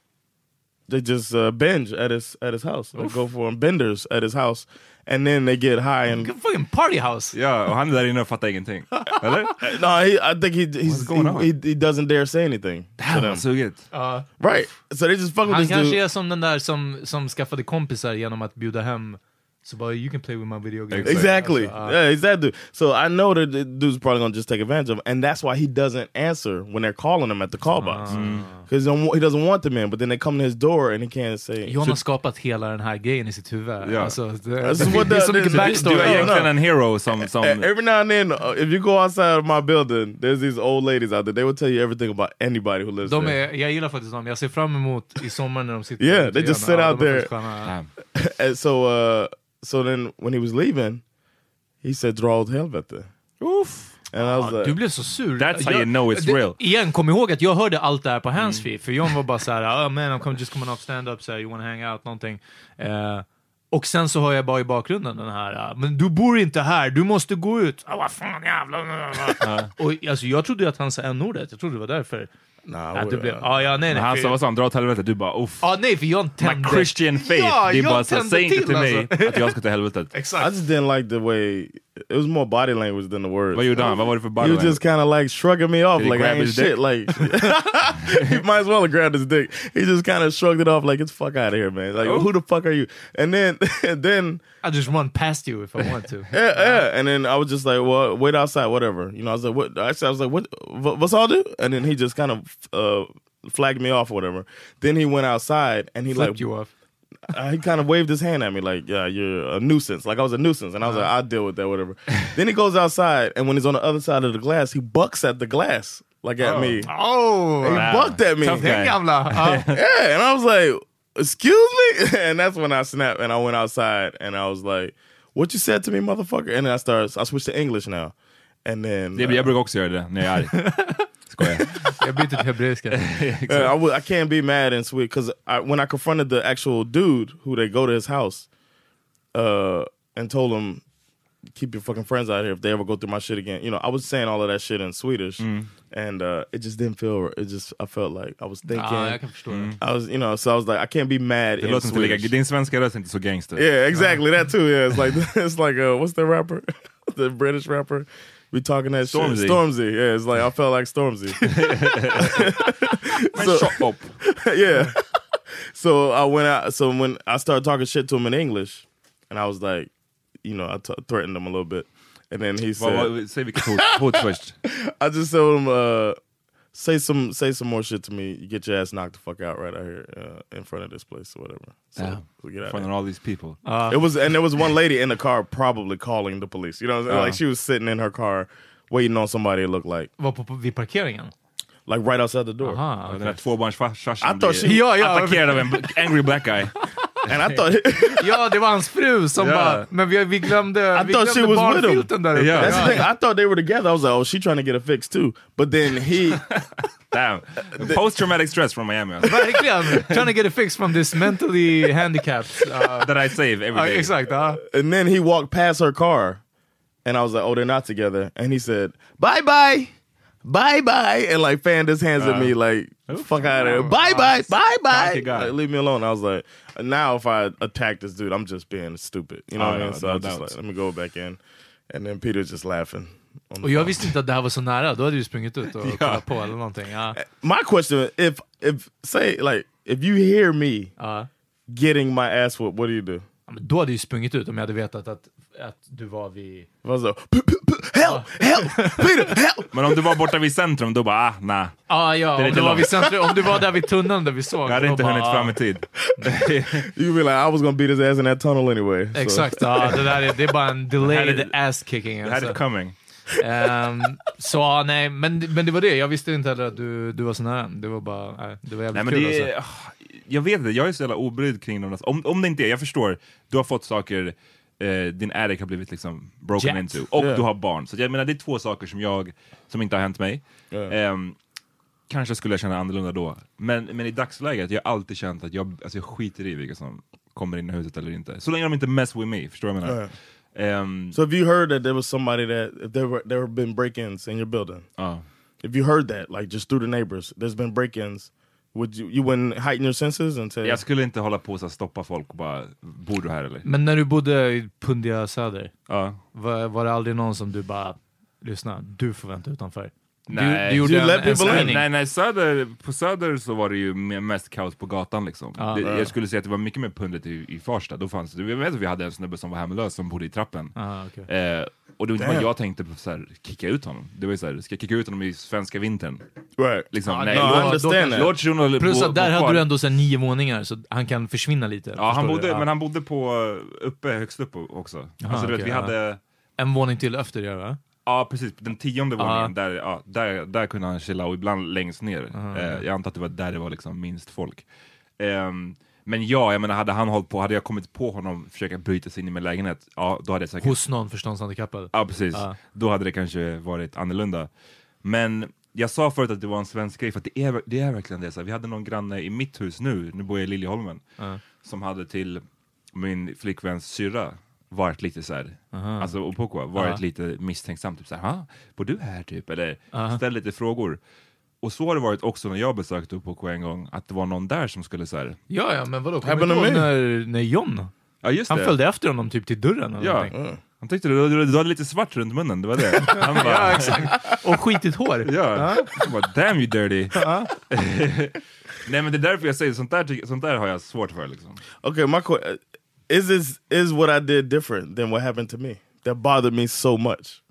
just binge at his house. They go for benders at his house. And then they get high and fucking party house. Ja, och han är där inne och fattar ingenting. Eller? No, I think he doesn't dare say anything. Damn, so good. Right. So they just fuck with han this dude. kanske är som den där som skaffade kompisar genom att bjuda hem. So, but you can play with my video games. Exactly. Yeah, he's that dude. So I know that the dude's probably gonna just take advantage of him, and that's why he doesn't answer when they're calling him at the call box. Because he doesn't want them in, but then they come to his door and he can't say... John har skapat hela den här grejen i sitt huvud. Yeah. Alltså, det är så mycket backstory. Du är egentligen en hero som... Every now and then, if you go outside of my building, there's these old ladies out there. They will tell you everything about anybody who lives there. Jag gillar faktiskt dem. Jag ser fram emot i sommar när de sitter... Yeah, they just sit out there. And so then when he was leaving, he said, dra åt helvete. Oof. And I was like, du blev så sur. That's how you know it's real. Igen, kom ihåg att jag hörde allt det här på handsfree. För John var bara såhär, man, I'm just coming off stand-up, so you wanna hang out, någonting. Och sen så hör jag bara i bakgrunden den här, men du bor inte här, du måste gå ut. Vad fan jävla. Och alltså, jag trodde att han sa n-ordet. Jag trodde det var därför. Nej. Han sa vad sa han, dra åt helvetet. Du bara, uff. Nej, för jag tände. My Christian faith. Det bara så, säg inte till mig att jag ska till helvetet. Exakt. I just didn't like the way, it was more body language than the words. Vad gjorde han? Vad var det för body language? You just kind of like shrugging me off like I ain't shit. Like, he might as well have grabbed his dick. He just kind of shrugged it off like, get the fuck out of here, man. Like, who the fuck are you? And then I just run past you if I want to. Yeah. And then I was just like, well, wait outside, whatever. You know, I was like, what? Actually, I was like, what's all do? And then he just kind of flagged me off or whatever. Then he went outside and he flipped like you off. He kind of waved his hand at me like, yeah, you're a nuisance. Like I was a nuisance. And I was like, I'll deal with that, whatever. Then he goes outside, and when he's on the other side of the glass, he bucks at the glass, like at me. Oh, and he bucked at me. Yeah, and I was like, excuse me? And that's when I snapped, and I went outside, and I was like, what you said to me, motherfucker? And then I switched to English now. And then... jag brukar också göra det när jag är arg. Jag byter till hebreiska. I can't be mad and sweet, because when I confronted the actual dude who they go to his house and told him, keep your fucking friends out here if they ever go through my shit again. You know, I was saying all of that shit in Swedish, and it just didn't feel. I felt like I was thinking. Jag kan förstå det. I was, so I was like, I can't be mad in Swedish. Din svenska röst är inte så gangster. Yeah, exactly that too. Yeah, it's like what's the rapper, the British rapper? We talking that Stormzy. shit. Stormzy. Yeah, it's like I felt like Stormzy. So, shut up. Yeah. So I went out. So when I started talking shit to him in English, and I was like, you know, I threatened him a little bit, and then he said, Säg vilket hot först. I just told him, say some more shit to me. You get your ass knocked the fuck out right out here in front of this place or whatever. So we get out In front of all these people. there was one lady in the car probably calling the police. You know what I'm saying? Like she was sitting in her car waiting on somebody it looked like. Var vid parkeringen? Like right outside the door. Den där tvåbarnsfarsan attackerad av en angry black guy. And I thought Ja, det var hans fru som bara, men vi glömde barnfilten där uppe. That's the thing. I thought they were together. I was like, oh, she trying to get a fix too. But then he Damn. Post-traumatic stress from Miami. Verkligen. Trying to get a fix from this mentally handicapped that I save every day. Exakt. And then he walked past her car and I was like, oh, they're not together. And he said, bye bye. Bye bye, and like fanned his hands at me like fuck out of here. Bye bye, bye bye. Like, leave me alone. I was like, now if I attack this dude, I'm just being stupid. You know what I mean? So I was just like, let me go back in. And then Peter's just laughing. Och jag visste inte att det här var så nära. Då hade du sprungit ut och kollat på eller någonting. My question, if say like if you hear me getting my ass whooped, what do you do? Men då hade du sprungit ut om jag hade vetat att du var vid... Help! Peter, help! Men om du var borta vid centrum, då bara, nej. Om du var vid centrum, om du var där vid tunneln där vi såg. Jag hade inte hunnit fram i tid. You be like, I was gonna beat his ass in that tunnel anyway. So. Exakt, det är bara en delayed ass kicking. Det här är coming. Så nej, men det var det. Jag visste inte heller att du var så nära. Det var bara, det var jävligt kul alltså. Jag vet inte, jag är så jävla obrydd kring dem. Om det inte är, jag förstår, du har fått saker, din addict har blivit liksom broken into, och du har barn. Så jag menar, det är två saker som inte har hänt mig. Kanske skulle jag känna annorlunda då. Men i dagsläget, jag har alltid känt att jag skiter i vilka som kommer in i huset eller inte. Så länge de inte mess with me, förstår du vad jag menar? So have you heard that there was somebody that there have been break-ins in your building? If you heard that, like just through the neighbors, there's been break-ins, would you wouldn't heighten your senses and say? Jag skulle inte hålla på att stoppa folk och bara, bor du här eller? Men när du bodde i Pundia Söder, var det aldrig någon som du bara, lyssna, du får vänta utanför? Nej, på Söder så var det ju mest kaos på gatan liksom. Jag skulle säga att det var mycket mer pundet i Farsta. Då fanns det, jag vet att vi hade en snubbe som var hemlös som bodde i trappen. Och det var inte bara jag tänkte på så här, kicka ut honom. Det var ju så här, ska jag kicka ut honom i svenska vintern? Right. Liksom, plus att där hade du ändå så 9 våningar så han kan försvinna lite. Ja, men han bodde på högst upp också. Alltså du vet, vi hade en våning till efter va? Ja, precis. Den 10:e våningen, där kunde han chilla, och ibland längst ner. Jag antar att det var där det var liksom minst folk. Men jag menar, hade jag kommit på honom försöka bryta sig in i min lägenhet, då hade jag säkert... Hos någon förståndshandikappad. Ja, precis. Då hade det kanske varit annorlunda. Men jag sa förut att det var en svensk grej, för att det är verkligen det. Så vi hade någon granne i mitt hus nu bor jag i Liljeholmen, som hade till min flickväns syrra varit lite så här, alltså Opoko varit lite misstänksam, typ så här, bor du här typ, eller ställ lite frågor. Och så har det varit också när jag besökte Opoko en gång, att det var någon där som skulle så här. Ja, men vadå? När John? Ja, just han följde efter honom typ till dörren eller han tyckte du hade lite svart runt munnen, det var det. Han bara, ja, exakt. Och skitigt hår. Han bara, damn you dirty. Nej, men det är därför jag säger, sånt där har jag svårt för liksom. Okay, is what I did different than what happened to me? That bothered me so much.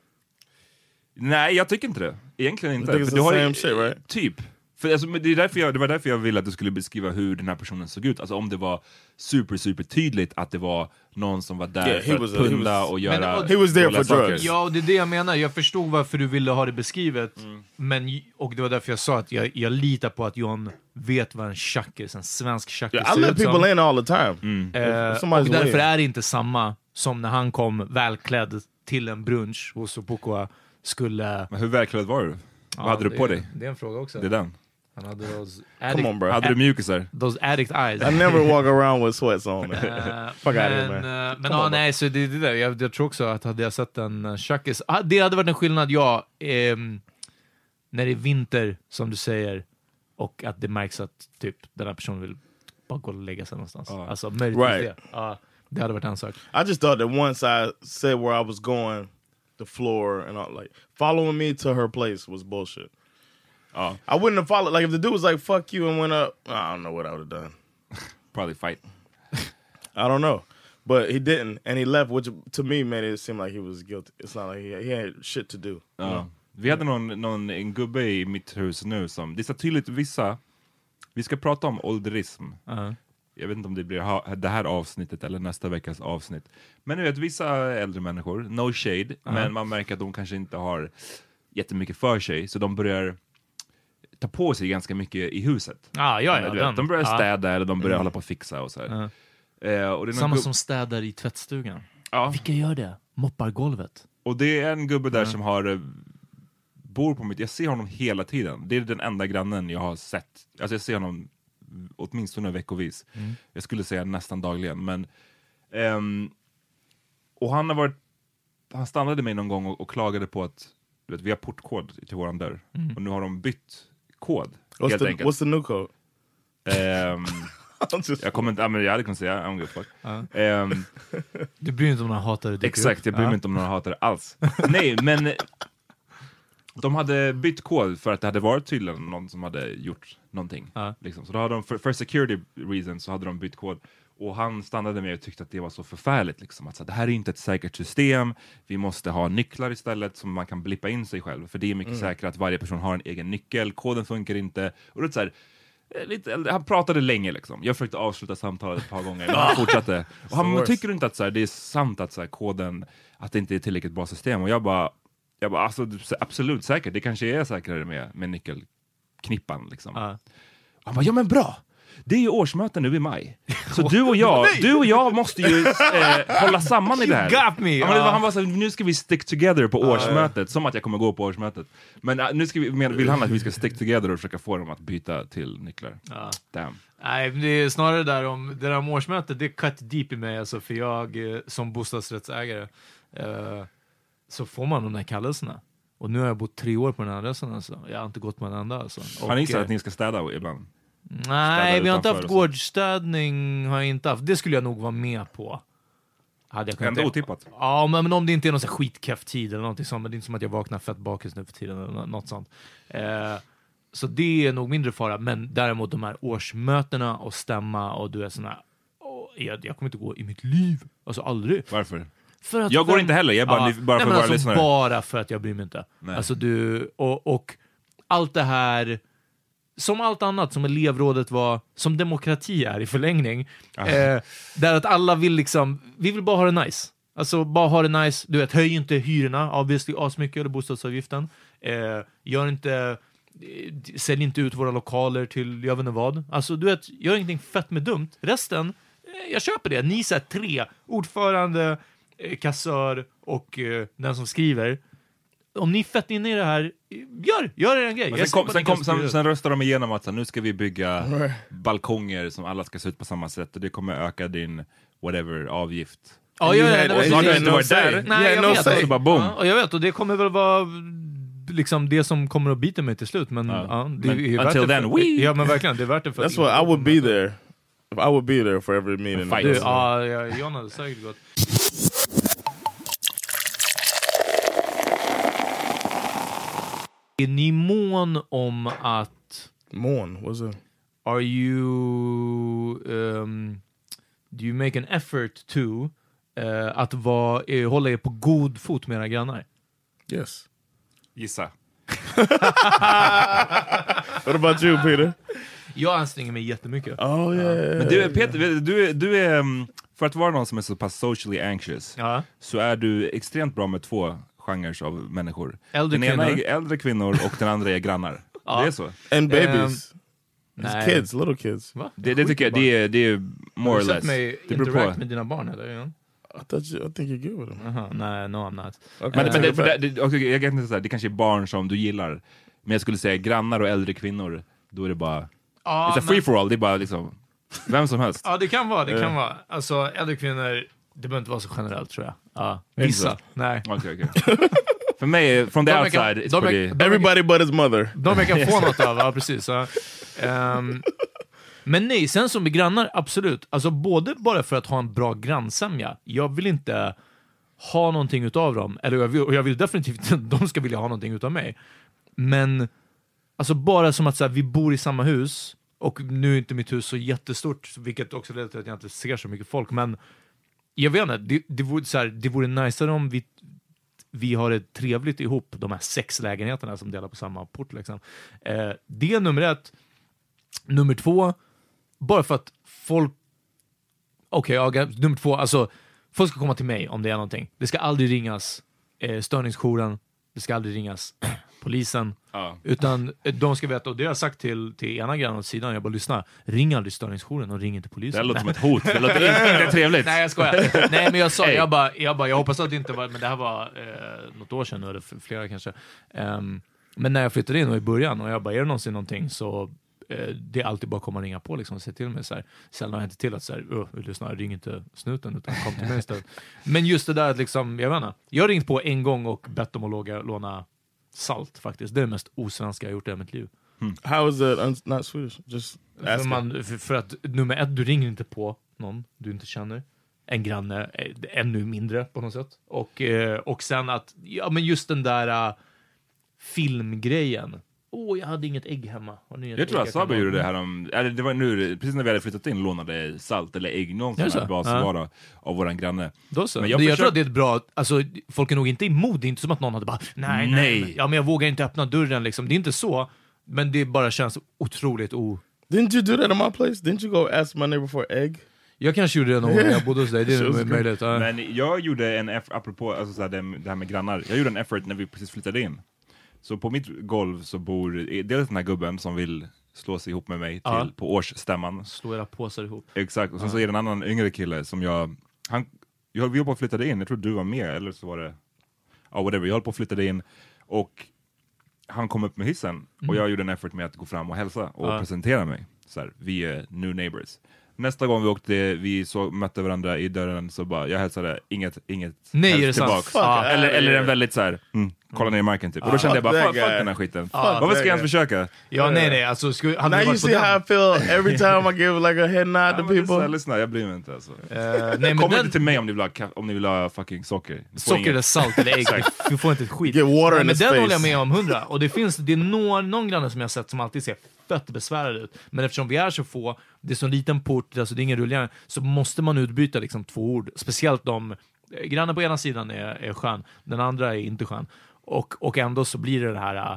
Nej, jag tycker inte det. Egentligen inte. För du har same shit, right? Typ. För alltså, det var därför jag ville att du skulle beskriva hur den här personen såg ut. Alltså om det var super tydligt att det var någon som var där för att punda och göra... He was there for drugs. Ja, det är det jag menar. Jag förstod varför du ville ha det beskrivet. Och det var därför jag sa att jag litar på att John vet vad en tjackis, en svensk tjackis ser ut som. I let people in all the time. Och därför är det inte samma som när han kom välklädd till en brunch hos Opoko skulle... Men hur välklädd var du? Vad hade du på dig? Det är en fråga också. Det är den. Han hade Come on, bro. Hade du mjukisar? Those addict eyes. I never walk around with sweats on. Fuck out of here, man. Men nej, så det där. Jag tror också att hade jag sett en tjackis... det hade varit en skillnad, när det är vinter, som du säger, och att det märks att typ den här personen vill bara gå och lägga sig någonstans. Alltså, möjligtvis det. Det hade varit en sak. I just thought that once I said where I was going the floor and all, like following me to her place was bullshit. I wouldn't have followed. Like if the dude was like "fuck you" and went up, I don't know what I would have done. Probably fight. I don't know, but he didn't, and he left, which to me made it seem like he was guilty. It's not like he had shit to do. Vi hade en gubbe i mitt hus nu som, det är så tydligt vissa, vi ska prata om ålderism. Jag vet inte om det blir det här avsnittet eller nästa veckas avsnitt. Men nu vet vissa äldre människor, no shade, men man märker att de kanske inte har jättemycket för sig, så de börjar ta på sig ganska mycket i huset. De börjar städa eller de börjar hålla på att fixa och så här. Och det är samma som städar i tvättstugan. Vilka gör det? Moppar golvet. Och det är en gubbe där som bor på mitt... Jag ser honom hela tiden. Det är den enda grannen jag har sett. Alltså jag ser honom åtminstone veckovis. Jag skulle säga nästan dagligen. Men, och han stannade mig någon gång och klagade på att vi har portkod till våran dörr. Och nu har de bytt kod. What's the new code? Jag kommer inte, men jag hade kunnat säga I'm good fuck. Du bryr inte om några hatare. Exakt, jag bryr mig inte om några hatare alls. Nej, men de hade bytt kod för att det hade varit tydligen någon som hade gjort någonting. Liksom. Så då hade de, för security reasons så hade de bytt kod. Och han stannade med och tyckte att det var så förfärligt. Liksom. Att så, det här är inte ett säkert system. Vi måste ha nycklar istället som man kan blippa in sig själv. För det är mycket säkrare att varje person har en egen nyckel. Koden funkar inte. Och det är så här, han pratade länge liksom. Jag försökte avsluta samtalet ett par gånger, men han fortsatte. Och han tycker inte att så här, det är sant att så här, koden, att det inte är ett tillräckligt bra system. Och jag bara alltså, absolut säkert. Det kanske är säkrare med nyckelknippan liksom. Han bara, ja men bra. Det är ju årsmöten nu i maj. Så du och jag måste ju hålla samman i det här. Got me, Han var så här, nu ska vi stick together på årsmötet. Som att jag kommer gå på årsmötet. Men nu ska vill han att vi ska stick together och försöka få dem att byta till nycklar. Damn. Nej, det är snarare det där om årsmötet, det är cut deep i mig. Alltså, för jag som bostadsrättsägare så får man de där kallelserna. Och nu har jag bott 3 år på den här adressen. Alltså. Jag har inte gått på en enda. Alltså. Har ni sagt att ni ska städa ibland? Nej, vi har inte haft gårdsstädning, har jag inte haft. Det skulle jag nog vara med på. Hade jag ändå otippat. Ja, men om det inte är någon så skitkäft tid eller någonting sånt, men det är inte som att jag vaknar fett bakis nu för tiden eller något sånt. Så det är nog mindre fara, men däremot de här årsmötena och stämma och du är såna, jag kommer inte gå i mitt liv. Alltså aldrig. Varför? För att jag går inte heller, jag bara för våra alltså, lyssnare. Bara för att jag bryr mig inte. Nej. Alltså du, och allt det här, som allt annat som elevrådet var, som demokrati är i förlängning, där att alla vill liksom, vi vill bara ha det nice. Alltså bara ha det nice, du vet, höj inte hyrorna, obviously asmycket, eller bostadsavgiften. Sälj inte ut våra lokaler till jag vet inte vad. Alltså du vet, gör ingenting fett med dumt. Resten, jag köper det. Ni är 3, ordförande, kassör och den som skriver. Om ni är fett inne i det här, gör er en grej. Sen röstar de igenom att så, nu ska vi bygga balkonger som alla ska se ut på samma sätt. Och det kommer öka din whatever avgift. Ja, jag vet. Och jag vet, och det kommer väl vara liksom det som kommer att bita mig till slut. Men, det är värt until det then, ja, men verkligen, det är värt det för. That's what I would be there. I would be there for every meeting. John hade säkert gått. Är ni mån om att... What's it? Are you... do you make an effort to att hålla er på god fot med era grannar? Yes. Gissa. What about you, Peter? Jag anstränger mig jättemycket. Oh, yeah. Men Peter, du är... För att vara någon som är så pass socially anxious så är du extremt bra med 2 genrer av människor. Den ena är äldre kvinnor och den andra är grannar. Det är så. And babies. Kids, little kids. Det tycker jag, det är more or less. Det beror på. Med dina barn eller? I think you're good with them. Nej, no I'm not. Men jag kan inte säga, det kanske är barn som du gillar. Men jag skulle säga grannar och äldre kvinnor, då är det bara it's a free for all, det är bara liksom vem som helst. Ja, det kan vara. Alltså äldre kvinnor, det behöver inte vara så generellt tror jag. Ja, vissa. Nej. Okej. För mig, from the outside, it's pretty... Everybody but his mother. De jag kan få något av, ja precis. Men nej, sen som med grannar, absolut. Alltså både bara för att ha en bra grannsämja. Jag vill inte ha någonting utav dem. Eller jag vill definitivt att de ska vilja ha någonting utav mig. Men alltså bara som att så här, vi bor i samma hus, och nu är inte mitt hus så jättestort, vilket också leder till att jag inte ser så mycket folk, men jag vet inte, det vore najsare om vi har det trevligt ihop, de här 6 lägenheterna som delar på samma port liksom. Det är nummer 1. Nummer 2, bara för att folk nummer 2, alltså folk ska komma till mig om det är någonting. Det ska aldrig ringas störningsjouren, det ska aldrig ringas polisen, utan de ska veta, och det har jag sagt till ena grannen åt sidan, jag bara lyssna, ring aldrig störningsjouren och ring inte polisen. Det låter som ett hot, det låter inte trevligt. Nej, jag skojar. Nej, men jag sa, jag hoppas att det inte var, men det här var något år sedan, eller flera kanske. Men när jag flyttade in och i början, och jag bara, är det någonsin någonting, så det är alltid bara komma och ringa på liksom, och se till mig så här. Sällan har jag inte till att så här, lyssna, ring inte snuten, utan kom till mig istället. Men just det där att liksom, jag vet inte, jag har ringt på en gång och bett dem att låna salt faktiskt. Det är det mest osvenska jag gjort i mitt liv. How is it not Swedish? Just för att nummer 1, du ringer inte på någon du inte känner. En granne ännu mindre på något sätt. Och sen att, ja men just den där filmgrejen. Jag hade inget ägg hemma. Jag tror att Sabe gjorde det här det var nu, precis när vi hade flyttat in, lånade salt eller ägg någonstans basvara av våran granne. Då så. Men jag tror att det är ett bra, alltså folk är nog inte emot, det är inte som att någon hade bara nej. Ja, men jag vågar inte öppna dörren liksom. Det är inte så, men det bara känns otroligt Didn't you do that in my place? Didn't you go ask my neighbor for egg? Jag kanske gjorde det någon gång när jag bodde hos dig. Det är möjligt. Men jag gjorde en apropå alltså så här, det här med grannar. Jag gjorde en effort när vi precis flyttade in. Så på mitt golv så bor dels den här gubben som vill slå sig ihop med mig på årsstämman. Slå era påsar ihop. Exakt, och sen så är det en annan yngre kille som vi höll på att flytta in. Jag tror du var med, eller så var det whatever. Jag höll på att flytta in och han kom upp med hissen och jag gjorde en effort med att gå fram och hälsa och presentera mig. Så här, vi är new neighbors. Nästa gång vi åkte, mötte varandra i dörren, så bara, jag hälsade inget nej, är det tillbaks. Eller en väldigt så här, kolla ner i marken typ. Och då kände jag bara, fuck den här skiten. Varför ska jag ens försöka? Ja, nej, alltså now you see how I feel every time I give like a head nod to people. Lyssna, jag bryr mig inte alltså. Kom inte till mig om ni vill ha fucking socker. Socker eller salt eller ägg, du får inte ett skit. Get water in men the den space. håller jag med om 100. Och det är någon granne som jag har sett som alltid ser fett besvärad ut. Men eftersom vi är så få, det är så liten port, alltså det är ingen rullgärning, så måste man utbyta liksom 2 ord. Speciellt om grannen på ena sidan är skön, den andra är inte skön. Och ändå så blir det här,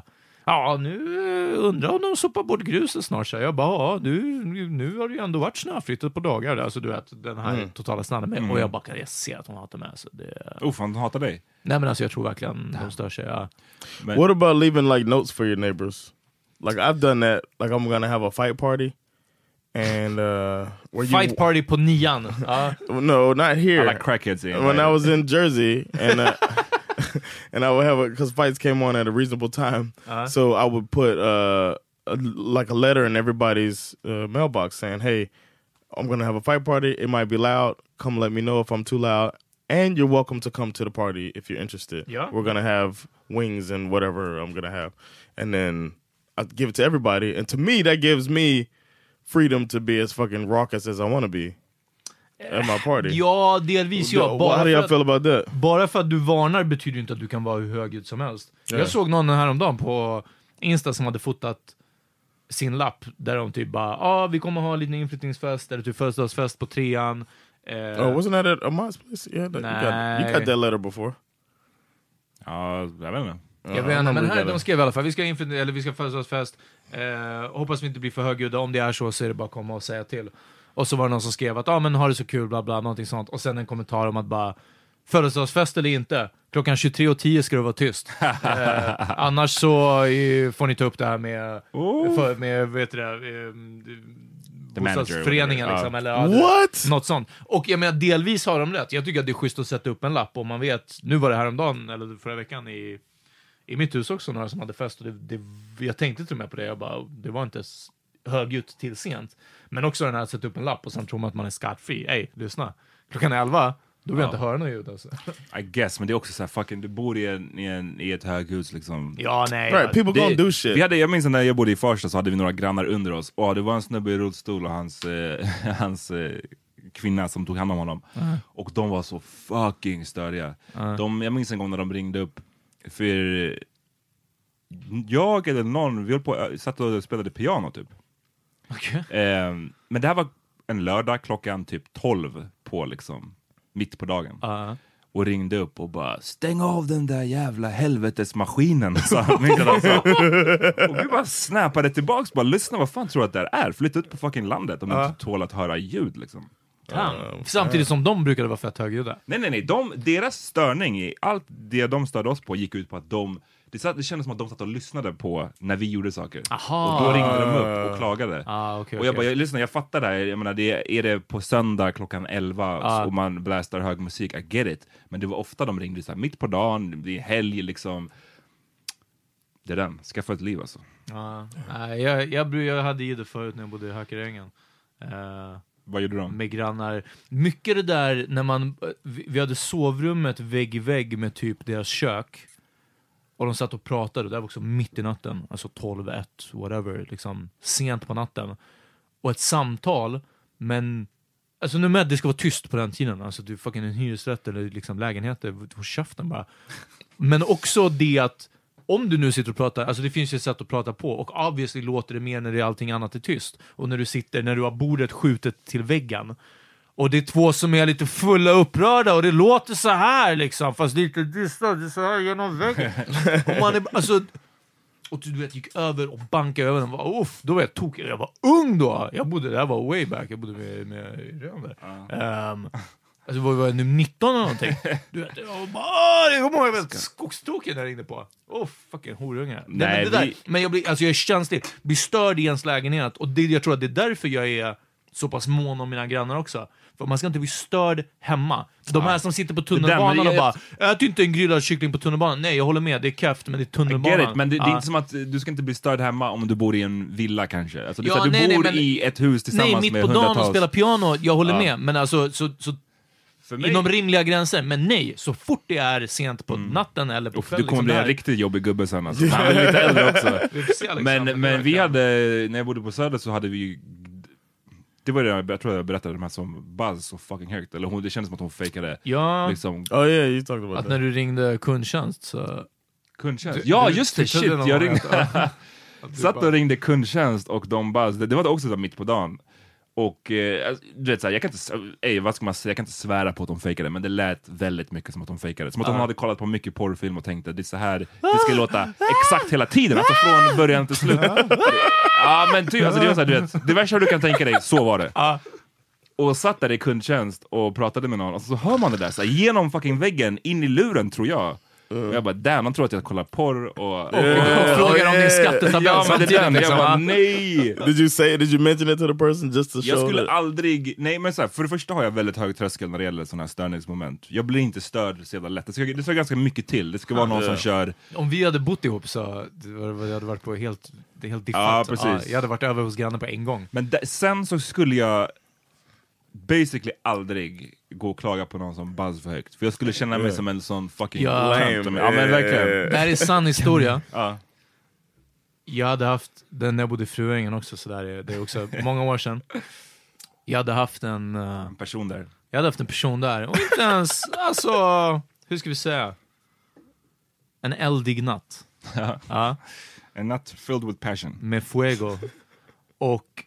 nu undrar om de sopar bort gruset snart. Så jag bara, nu har det ju ändå varit snöfritt ett par dagar. Alltså du vet, den här totala snabben med. Och jag ser att hon hatar mig. Så fan, hon hatar dig? Nej, men alltså jag tror verkligen de stör sig. What about leaving like notes for your neighbors? Like I've done that. Like I'm gonna have a fight party. And fight party på 9:an. No, not here. I like crackheads. When I was in Jersey and and I would have because fights came on at a reasonable time. So I would put like a letter in everybody's mailbox saying, "Hey, I'm gonna have a fight party. It might be loud. Come let me know if I'm too loud. And you're welcome to come to the party if you're interested. Yeah. We're gonna have wings and whatever I'm gonna have." And then I give it to everybody. And to me, that gives me freedom to be as fucking raucous as I want to be at my party. Ja, delvis ja. How do you feel about that? Bara för att du varnar betyder inte att du kan vara hur högljudd som helst. Yeah. Jag såg någon häromdagen på Insta som hade fotat sin lapp där de typ bara, vi kommer ha en liten inflyttningsfest eller typ födelsedagsfest på 3:an. Wasn't that at Amar's place? Yeah, you got that letter before. Jag vet inte. Jag vet inte, men här de skrev i alla fall, vi ska födelsedagsfest. Hoppas vi inte blir för högljudda. Om det är så är det bara att komma och säga till. Och så var det någon som skrev att men har det så kul, bla bla, någonting sånt. Och sen en kommentar om att bara, födelsedagsfest eller inte, klockan 23:10 ska det vara tyst. Annars så får ni ta upp det här med vet du det, bostadsföreningen liksom, eller något sånt. Och jag menar, delvis har de rätt. Jag tycker att det är schysst att sätta upp en lapp om man vet, nu var det häromdagen eller förra veckan i mitt hus också några som hade fest och jag tänkte till och med på det. Jag bara, det var inte högljutt till sent. Men också den här att sätta upp en lapp och sen tror man att man är skattfri. Lyssna. Klockan 11, då vill jag inte höra något ljud alltså. I guess, men det är också så här, fucking, du bor i ett höghus liksom. Ja, nej. Right, people gonna do shit. Jag minns när jag bodde i Farsta så hade vi några grannar under oss. Det var en snubbe i rullstol och hans kvinna som tog hand om honom. Och de var så fucking störiga. Jag minns en gång när de ringde upp för jag eller någon, vi satt och spelade piano typ. Okay. Men det här var en lördag klockan typ 12 på liksom mitt på dagen. Och ringde upp och bara stäng av den där jävla helvetesmaskinen. Och vi bara snappade tillbaks. Bara lyssna, vad fan tror du att det är? Flytta ut på fucking landet om du inte tål att höra ljud liksom. Samtidigt som de brukade vara fett högljudda. Nej. Deras störning i allt det de störde oss på gick ut på att det kändes som att de satt och lyssnade på när vi gjorde saker. Aha. Och då ringde de upp och klagade. Okay, och jag bara, jag fattar det här. Jag menar, är det på söndag klockan 11 och man blästar hög musik, I get it. Men det var ofta de ringde så här, mitt på dagen, det är helg liksom. Det är den, skaffa ett liv alltså. Jag hade ju det förut när jag bodde i Hökarängen. Vad gjorde de? Med grannar. Mycket det där när vi hade sovrummet vägg i vägg med typ deras kök. Och de satt och pratade, det var också mitt i natten, alltså 12-1, whatever, liksom sent på natten. Och ett samtal, men alltså nu med det ska vara tyst på den tiden, alltså du fucking en hyresrätt eller liksom lägenheter, hos käften bara. Men också det att om du nu sitter och pratar, alltså det finns ju ett sätt att prata på, och obviously låter det mer när det är allting annat är tyst. Och när du har bordet skjutet till väggen. Och det är två som är lite fulla upprörda och det låter så här liksom, fast lite dystert, det är så här genom väggen. Och man är alltså, och du vet, gick över och bankade över den och då var jag tokig. Jag var ung då. Jag bodde där, var way back. Jag bodde med Römer. Alltså var jag nu 19 eller någonting. Du vet, jag var skogstoken där inne på. Fucking horungar. Men jag är känslig. Blir störd i ens lägenhet, och jag tror att det är därför jag är så pass mån om mina grannar också. För man ska inte bli störd hemma. De här som sitter på tunnelbanan och bara ät inte en grillad kyckling på tunnelbanan. Nej, jag håller med, det är kräft, men det är tunnelbanan. Men det är inte som att du ska inte bli störd hemma om du bor i en villa kanske. Alltså, du bor i ett hus tillsammans med hundratals. Nej, mitt på dagen och spelar piano, jag håller med. Men alltså, så inom rimliga gränser. Men nej, så fort det är sent på natten eller på kvällen. Du kommer bli en riktigt jobbig gubbe sen. Alltså. Han är lite äldre också. Men vi hade, när jag bodde på Söder så hade vi, det var det jag tror jag berättade, de här som buzz så fucking högt. Eller det kändes som att hon fejkade. Ja, liksom. Att när du ringde kundtjänst så... Kundtjänst? Ja, just det, shit. Jag ringde... Satt och ringde kundtjänst och de buzz. Det var också så mitt på dagen. Och du vet så här, jag kan inte svära på att de fejkade, men det lät väldigt mycket som att de fejkade. Som att de hade kollat på mycket porrfilm och tänkte det är så här det ska låta exakt hela tiden, alltså från början till slut. Ja, men alltså, det var så här, du vet, det värsta du kan tänka dig, så var det. Och satt där i kundtjänst och pratade med någon, och så hör man det där så här, genom fucking väggen in i luren, tror jag. Och jag bara, damn, de tror att jag kollar porr och frågar om din skattetabell. Ja, men det är den. Jag bara, nej. Did you mention it to the person just to show? Jag skulle aldrig, nej men så här, för det första har jag väldigt hög tröskel när det gäller sådana här störningsmoment. Jag blir inte störd så jävla lätt. Det ska ganska mycket till. Det ska vara någon som kör. Om vi hade bott ihop så det hade varit på helt different. Ja, precis. Jag hade varit över hos grannen på en gång. Men sen så skulle jag basically aldrig gå och klaga på någon som buzz för högt. För jag skulle känna mig som en sån fucking lame. Ja, men verkligen. Det här är sann historia. Jag hade haft den när jag bodde i Fruängen också, så där det är också många år sedan. Jag hade haft en person där. Jag hade haft en person där. Och inte ens, alltså, hur ska vi säga? En eldig natt. Ja. En natt filled with passion. Med fuego. Och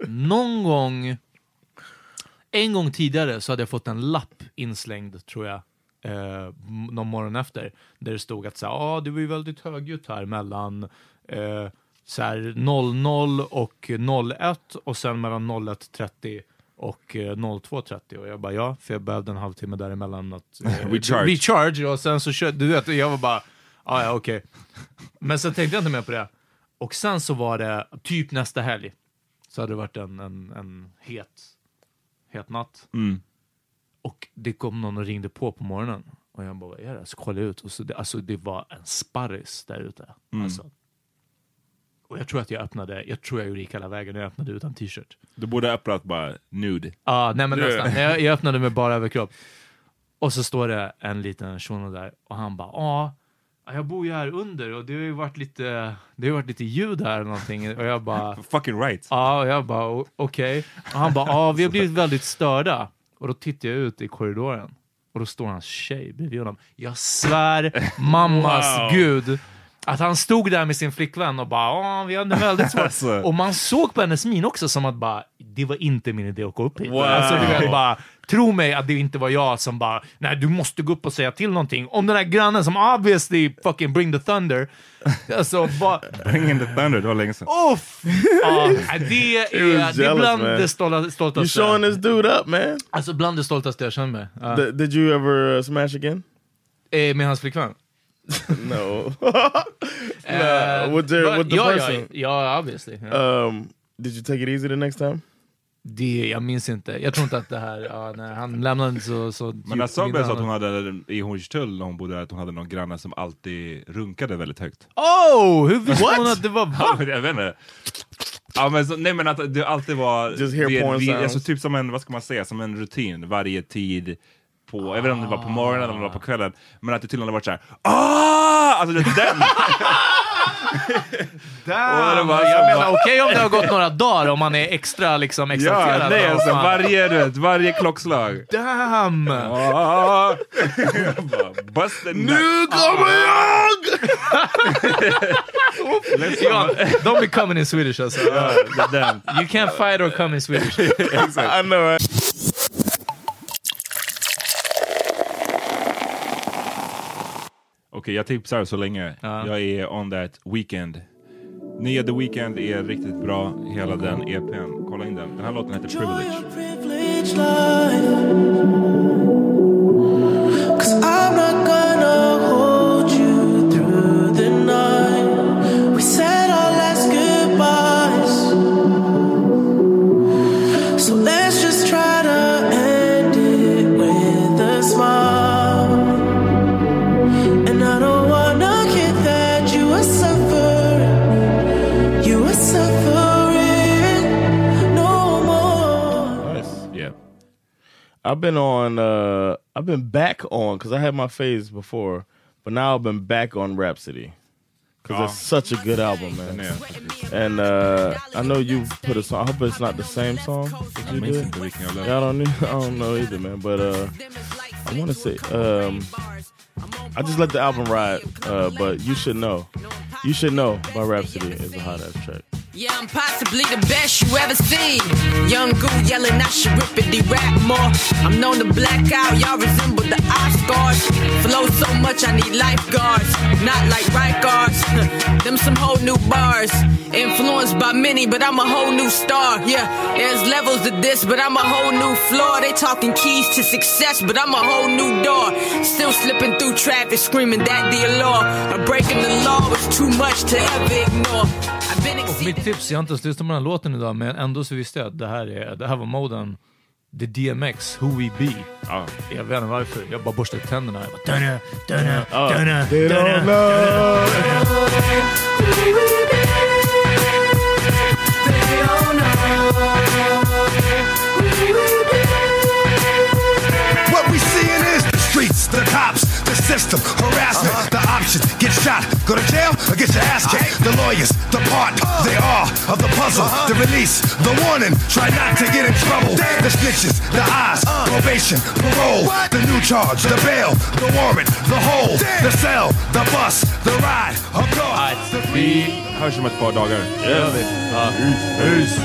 en gång tidigare så hade jag fått en lapp inslängd, tror jag, någon morgon efter, där det stod att så det var ju väldigt högljutt här mellan så här 00 och 01 och sen mellan 01.30 och 02.30, och jag bara för jag behövde en halvtimme däremellan att recharge, och sen så körde, du vet, jag var bara okej. Men så tänkte jag inte mer på det, och sen så var det typ nästa helg så hade det varit en het natt. Och det kom någon och ringde på morgonen. Och jag bara, vad är det? Så kollade jag ut. Och så det var en sparris där ute. Alltså. Och jag tror att jag gjorde hela vägen. Jag öppnade utan t-shirt. Du borde öppnat bara nude. Nej men nästan. Jag öppnade med bara överkropp. Och så står det en liten shuno där. Och han bara, Jag bor ju här under och det har ju varit lite ljud här eller någonting. Och jag bara... Fucking right. Ja, jag bara okej. Och han bara, vi har blivit väldigt störda. Och då tittar jag ut i korridoren. Och då står hans tjej bredvid honom. Jag svär mammas gud att han stod där med sin flickvän och bara, vi hade väldigt svårt. Alltså. Och man såg på hennes min också som att bara, det var inte min idé att gå upp hit. Wow. Alltså du vet bara, tro mig att det inte var jag som bara, nej du måste gå upp och säga till någonting. Om den där grannen som obviously fucking bring the thunder. Alltså bara... Bring the thunder, det var länge sedan. Det är bland det stoltaste. You showing this dude up, man. Alltså bland det stoltaste jag känner mig. Did you ever smash again? Med hans flickvän? No. With the person? Ja, obviously. Did you take it easy the next time? Jag minns inte. Jag tror inte att det här... när han lämnade så men jag såg att hon hade i Hornstull när hon bodde där, att hon hade någon granne som alltid runkade väldigt högt. Hur visste hon att det var... Jag vet inte. Ja, men att det alltid var... Just hear porn sounds. Alltså typ som en, vad ska man säga, som en rutin varje tid på, jag vet inte om det var på morgonen eller om det var på kvällen, men att det tydligen hade varit så här. Alltså det är den. Jag menar okej om det har gått några dagar om man är extra liksom exalterad. Ja, nej, alltså varje klockslag. Damn. Busted nu kommer jag. Don't be coming in Swedish alltså. You can't fight or come in Swedish. I know it. Okej, jag tipsar så länge. Jag är on that Weeknd. Nya The Weeknd är riktigt bra. Hela den EPn. Kolla in den. Den här låten heter Privilege. Cause I'm not gonna hold you through the night. We said our last goodbyes. So let's just try to end it with a smile. I've been back on, because I had my phase before, but now I've been back on Rhapsody. Because it's such a good album, man. And I know you put a song, I hope it's not the same song that you did. Yeah, I don't know either, man. But I want to say, I just let the album ride, but You Should Know. You Should Know by Rhapsody is a hot ass track. Yeah, I'm possibly the best you ever seen. Young goo yelling, I should rippity rap more. I'm known to black out, y'all resemble the Oscars. Flow so much, I need lifeguards. Not like right guards. Them some whole new bars. Influenced by many, but I'm a whole new star. Yeah, there's levels to this, but I'm a whole new floor. They talking keys to success, but I'm a whole new door. Still slipping through traffic, screaming that the law. Or breaking the law was too much to ever ignore. Och mitt tips, jag har inte ens lyssnat på den här låten idag, men ändå så visste jag att det här var moden The DMX, Who We Be. Jag vet inte varför, jag bara borstade tänderna. Jag bara, dunna. They don't know. What we seeing is the streets, the cops, the system, harassment, the options, get shot, go to jail, or get your ass kicked. The lawyers, the part, they are of the puzzle, the release, the warning, try not to get in trouble. The snitches, the eyes, probation, parole, the new charge, the bail, the warrant, the hold, the cell, the bus, the ride, of course. Vi hörs om ett par dagar. Peace.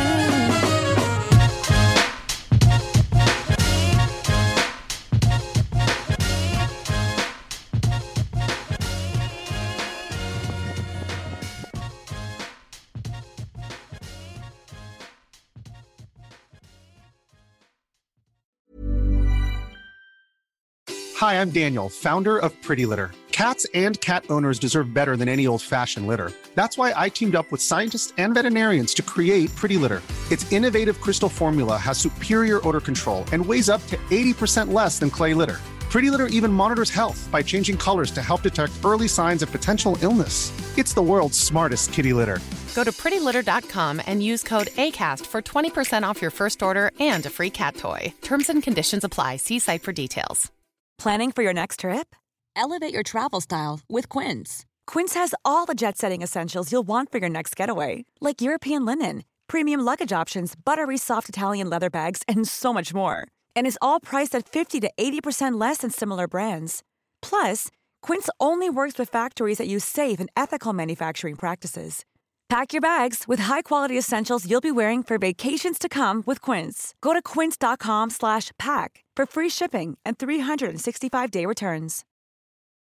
Hi, I'm Daniel, founder of Pretty Litter. Cats and cat owners deserve better than any old-fashioned litter. That's why I teamed up with scientists and veterinarians to create Pretty Litter. Its innovative crystal formula has superior odor control and weighs up to 80% less than clay litter. Pretty Litter even monitors health by changing colors to help detect early signs of potential illness. It's the world's smartest kitty litter. Go to prettylitter.com and use code ACAST for 20% off your first order and a free cat toy. Terms and conditions apply. See site for details. Planning for your next trip? Elevate your travel style with Quince. Quince has all the jet-setting essentials you'll want for your next getaway, like European linen, premium luggage options, buttery soft Italian leather bags, and so much more. And is all priced at 50 to 80% less than similar brands. Plus, Quince only works with factories that use safe and ethical manufacturing practices. Pack your bags with high-quality essentials you'll be wearing for vacations to come with Quince. Go to quince.com/pack for free shipping and 365-day returns.